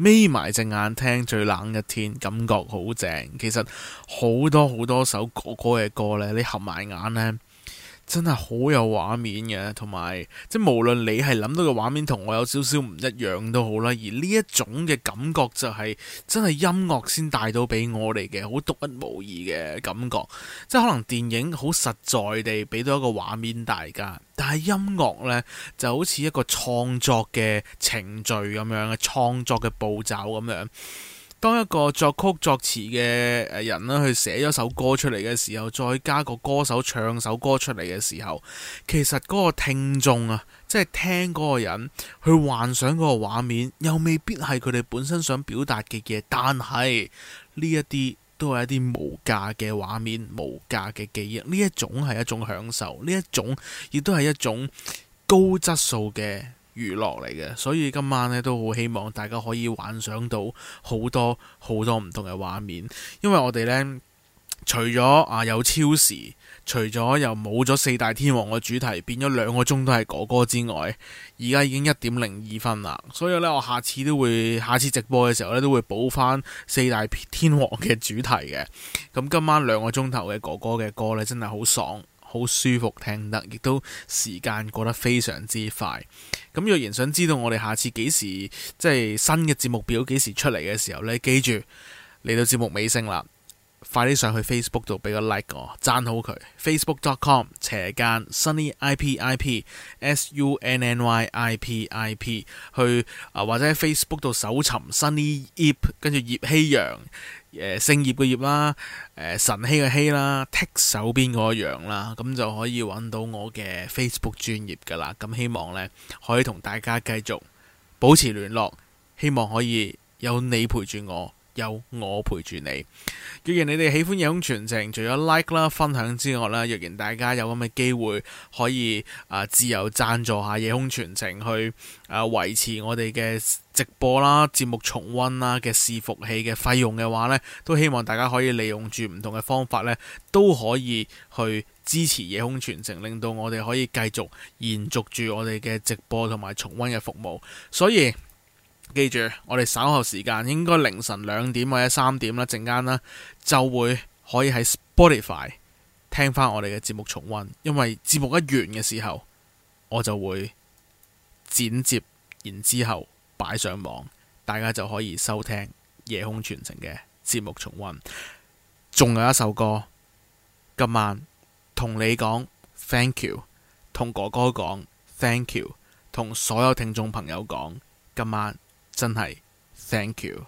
眯埋隻眼聽最冷一天，感覺好正。其實好多好多首哥哥嘅歌呢，你合埋眼呢，真係好有畫面嘅，同埋即係無論你係諗到嘅畫面同我有少少唔一樣都好啦，而呢一種嘅感覺就係真係音樂先帶到俾我哋嘅好獨一無二嘅感覺。即係可能電影好實在地俾到一個畫面大家，但係音樂呢就好似一個創作嘅程序咁樣嘅創作嘅步驟咁樣。當一個作曲作詞嘅誒人咧去寫咗首歌出嚟嘅時候，再加個歌手唱首歌出嚟嘅時候，其實嗰個聽眾啊，即係聽嗰個人去幻想嗰個畫面，又未必係佢哋本身想表達嘅嘢，但係呢一啲都係一啲無價嘅畫面、無價嘅記憶。呢一種係一種享受，呢一種亦都係一種高質素嘅娛樂嚟嘅，所以今晚咧都好希望大家可以幻想到好多好多唔同嘅畫面，因為我哋呢，除咗啊有超時，除咗又冇咗四大天王嘅主題，變咗兩個鐘都係哥哥之外，而家已經一點零二分啦，所以呢，我下次都會下次直播嘅時候呢，都會補翻四大天王嘅主題嘅。咁今晚兩個鐘頭嘅哥哥嘅歌呢，真係好爽，好舒服聽得，亦都時間過得非常之快。咁若然想知道我哋下次幾時即係新嘅節目表幾時出嚟嘅時候呢，記住嚟到節目尾聲啦，快啲上去 Facebook 度俾個 like 我，讚好佢 facebook dot com 斜間 sunny ip s u n n y i p i p 去啊，或者喺 Facebook 度搜尋 Sunny Ip， 跟住葉希陽。誒姓葉嘅葉啦，誒晨曦嘅曦啦，剔手邊嗰個陽啦，咁就可以揾到我嘅 Facebook 專頁噶啦。咁希望呢，可以同大家繼續保持聯絡，希望可以有你陪住我，有我陪住你。若然你哋喜歡夜空傳情，除咗 like 啦、分享之外啦，若然大家有咁嘅機會可以啊、呃、自由贊助下夜空傳情，去啊維、呃、持我哋嘅直播啦、節目重溫啦嘅伺服器嘅費用嘅話呢，都希望大家可以利用住唔同嘅方法呢，都可以去支持夜空傳情，令到我哋可以繼續延續住我哋嘅直播同埋重溫嘅服務。所以記住，我哋稍後時間應該凌晨兩點或者三點啦，陣間啦就會可以喺 Spotify 聽翻我哋嘅節目重溫，因為節目一完嘅時候，我就會剪接，然之後擺上網，大家就可以收聽夜空傳情嘅節目重溫。仲有一首歌，今晚同你講 Thank you， 同哥哥講 Thank you， 同所有聽眾朋友講，今晚真係 Thank you。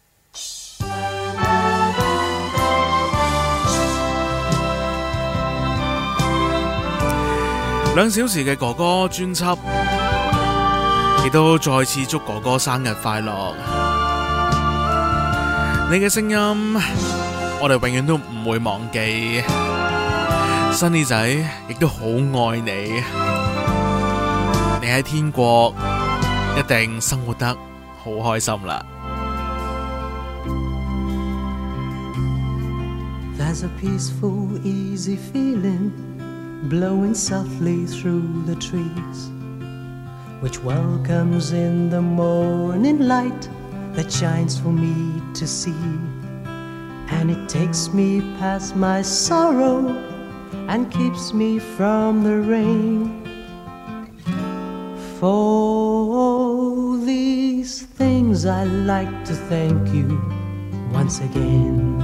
兩小時嘅哥哥專輯，亦都再次祝哥哥生日快樂。你嘅聲音，我哋永遠都唔會忘記。Sunny仔亦都好愛你，你喺天國一定生活得好開心啦。 There's a peaceful, easy feeling blowing softly through the trees, which welcomes in the morning light that shines for me to see. And it takes me past my sorrow and keeps me from the rain. For all these things I like to thank you once again.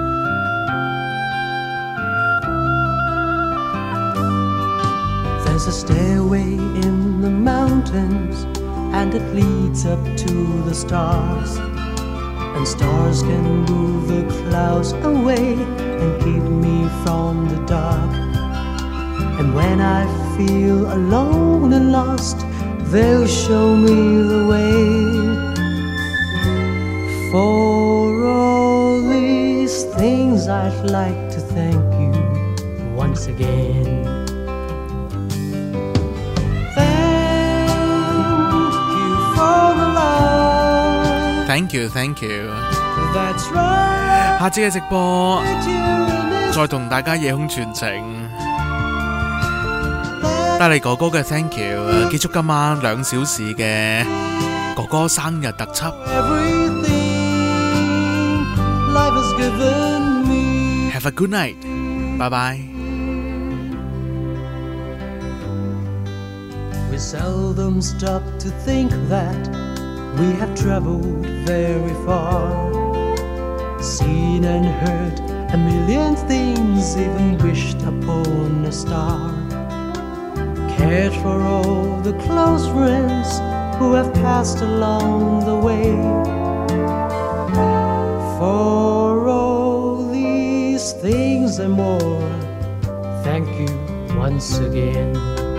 There's a stairway in the mountains and it leads up to the stars, and stars can move the clouds away and keep me from the dark. And when I feel alone and lost, they'll show me the way. For all these things I'd like to thank you once again. Thank you, thank you. That's right. 下次嘅直播再同大家夜空傳情，帶嚟哥哥嘅 Thank you， 結束今晚兩小時嘅哥哥生日特輯。 life has given me. Have a good night. Bye bye. We seldom stop to think that we have traveled very far, seen and heard a million things, even wished upon a star, cared for all the close friends who have passed along the way. For all these things and more, thank you once again.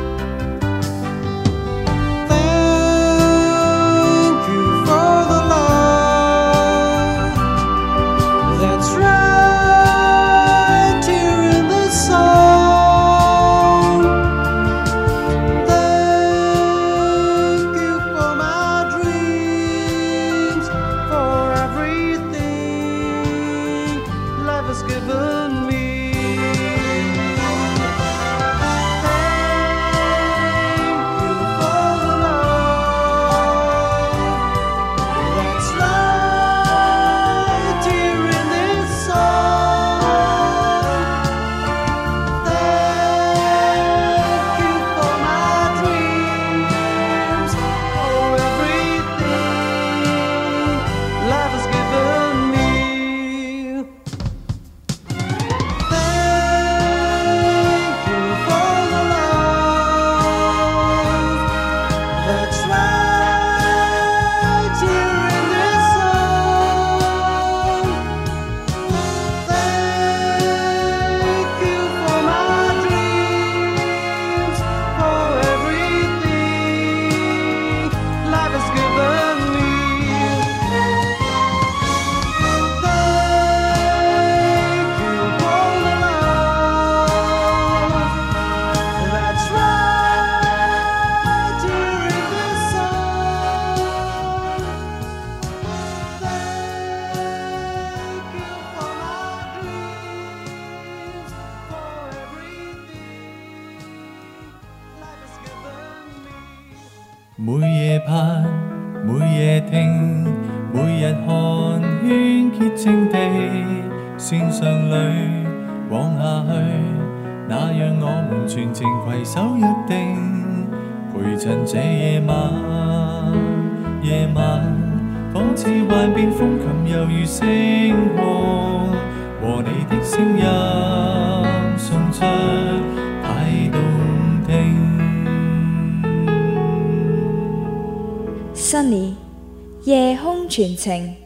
每夜盼，每夜聽，每日看，圈潔淨地線上裏往下去，那讓我們全程攜手約定，陪襯這夜晚。夜晚仿似幻變風琴，猶如星光，和你的聲音送出太動聽。 Sunny 夜空傳情。